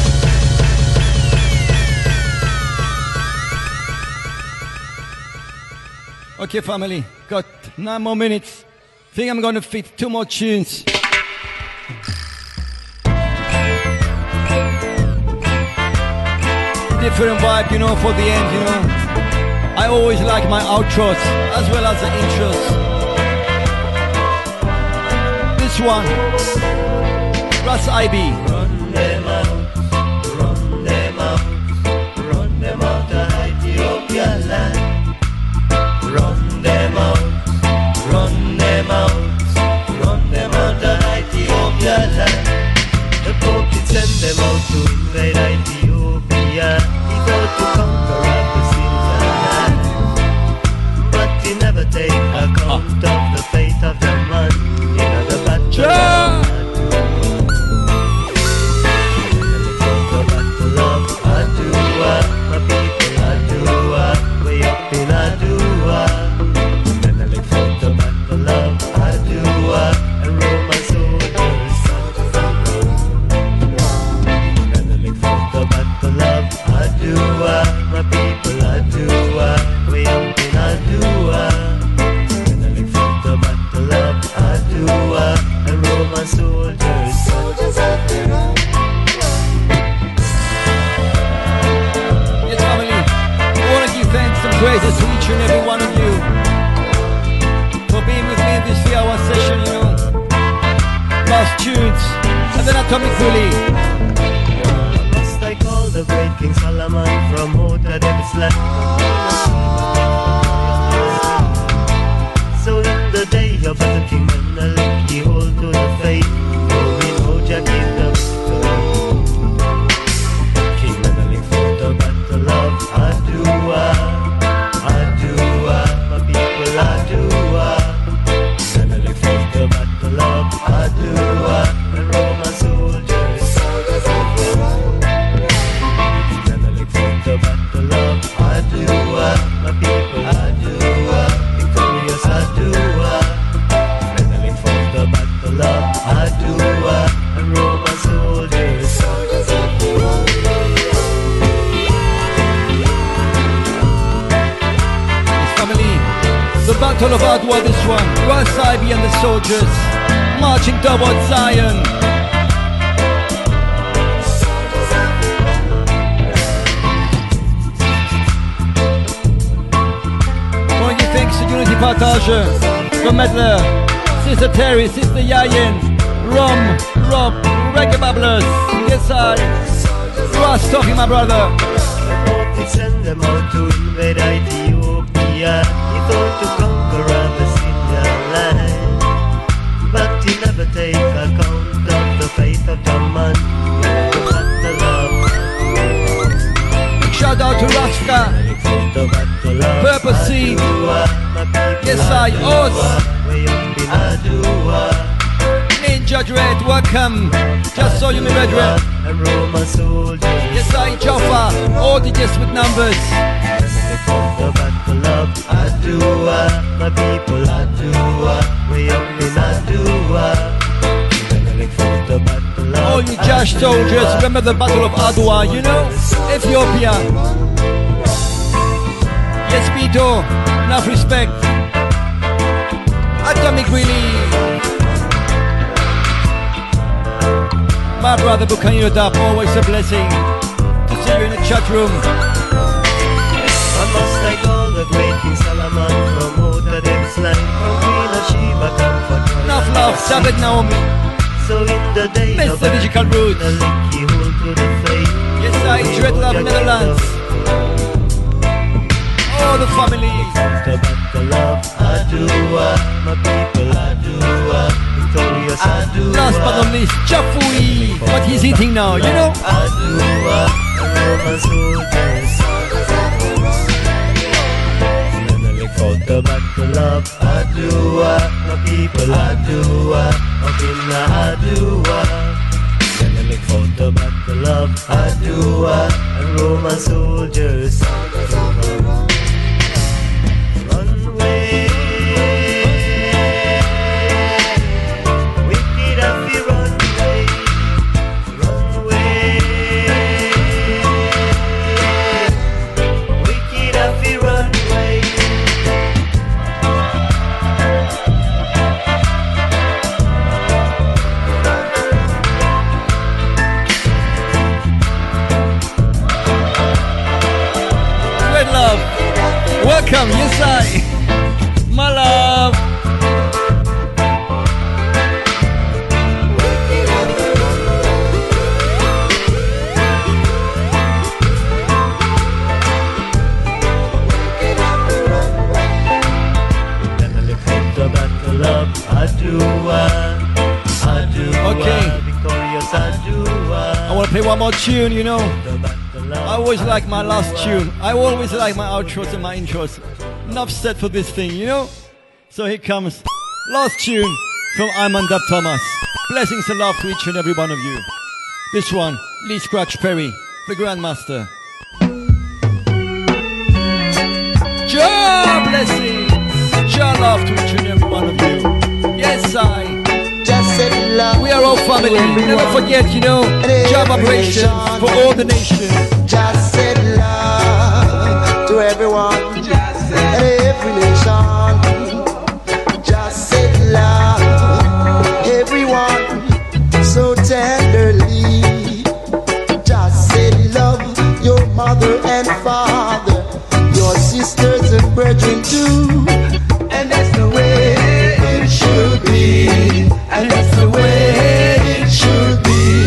Okay, family, got 9 more minutes. Think I'm gonna fit 2 more tunes. Different vibe, you know, for the end, you know. I always like my outros as well as the intros. This one, Russ IB. Run them out, run them out, run them out of Ethiopia land. Run them out, run them out, run them out of Ethiopia land. The Pope did send them out to invade Ethiopia. He thought to conquer praises to each and every one of you for being with me in this 3-hour session, you know. Last tunes, and then Atomic Bully. Must I call the great King Solomon from Mota David's land? So in the day of the King Menelik, he hold to the faith, for in Oja gave the King Menelik fought the battle of Adua, Adua, my people Adua. Menelik fought the battle of Adua, and Roman soldiers. Menelik fought the battle of Adua, my people Adua, victorious Adua. Menelik fought the battle of Adua, and Roman soldiers. Family, the Battle of Adwa, this one. Rasaibi and the soldiers marching towards Zion. Thank you, thanks to Unity Partage, the Medler, Sister Terry, Sister Yayin, Rom, Rob, Reggae Babblers. Yes, I. Ross talking, my brother. He sent them out to invade Ethiopia. He thought to conquer Abyssinia land, but he never take account of the faith of the man. The love. Shout out to Rasta, Purple Seed. Yes, I. Oz. Ninja Dread, welcome. Just saw you, my brethren. And Roman soldiers. Yes, I. Jaffa. All digits with numbers. The battle of Adua, my people Adua, way up in Adua. The battle of All you Josh soldiers, remember the Battle of Adwa, you know? Ethiopia. Yes, Pito. Enough respect. Atomic Relief. My brother Bukanyo Dap, always a blessing to see you in the chat room. I must thank all the great King Solomon from Mota David's land, from Queen of Sheba, comfort. Enough love, Sabbath Naomi. So in the day of Mr. Digital Roots. the link he hold to the faith. Yes, I dread love Netherlands. All the family. The battle of Adua, my people Adua, victorious Adua. Last but not least, Chafui. What he's eating now, you know? Adua, Roman soldiers. Fought the battle of Adua, my people Adua, up in Adua. Menelik fought the battle of Adua, and Roman soldiers. Run away, wicked as we run away, run away, wicked as we run away. Welcome, yes I, my love. The battle of Adua, Adua, okay. Victorious Adua. I want to play one more tune, you know. I always like my last tune. I always like my outros and my intros. Enough said for this thing, you know? So here comes last tune from Iman Dab Thomas. Blessings and love to each and every one of you. This one, Lee Scratch Perry, the Grandmaster. Jah blessings, Jah love to each and every one of you. Yes, I. We are all family. Never forget, you know, Jah vibrations for all the nations. Just said love to everyone and every nation. Just said love everyone so tenderly. Just said love your mother and father, your sisters and brethren too. And that's the way it should be. And that's the way it should be.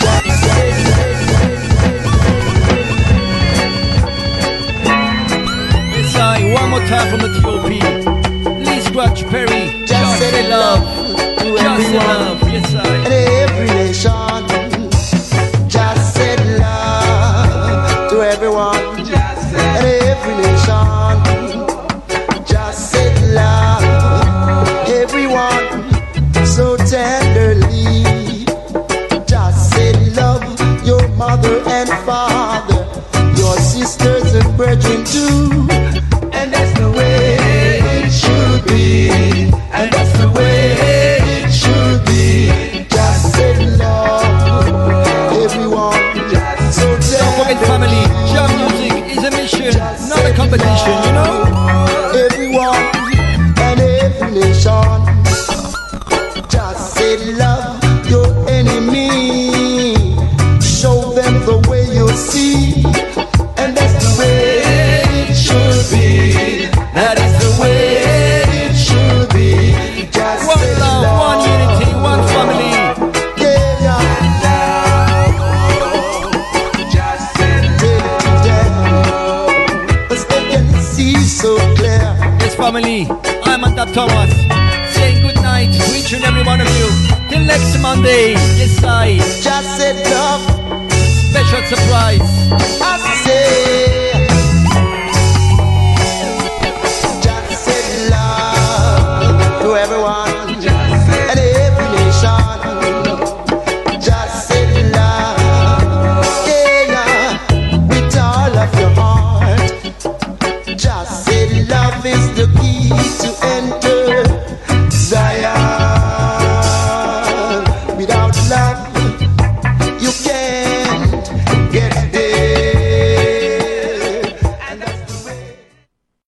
Yes, one more time from the TOP. Lee Scratch Perry. Just say love. Just say love. Yes, and every nation. Just say love to everyone. And every nation. Just say love everyone so tenderly. Just say love your mother and father, your sisters and brethren too. And that's the way it should be. And that's the way it should be. Just say love everyone. So don't forget family. Jam music is a mission, not a competition, you know. Everyone and every nation. Just say love your enemy. Show them the way you see. And that's the way it should be. That is the way it should be. Just one say love, one unity, one family. Yeah, yeah. Just say love. As they can see so clear. Yes, family. I'm Andap Thomas. Saying good night to each and every one of you. Till next Monday. Yes, I. Just say love. Special surprise.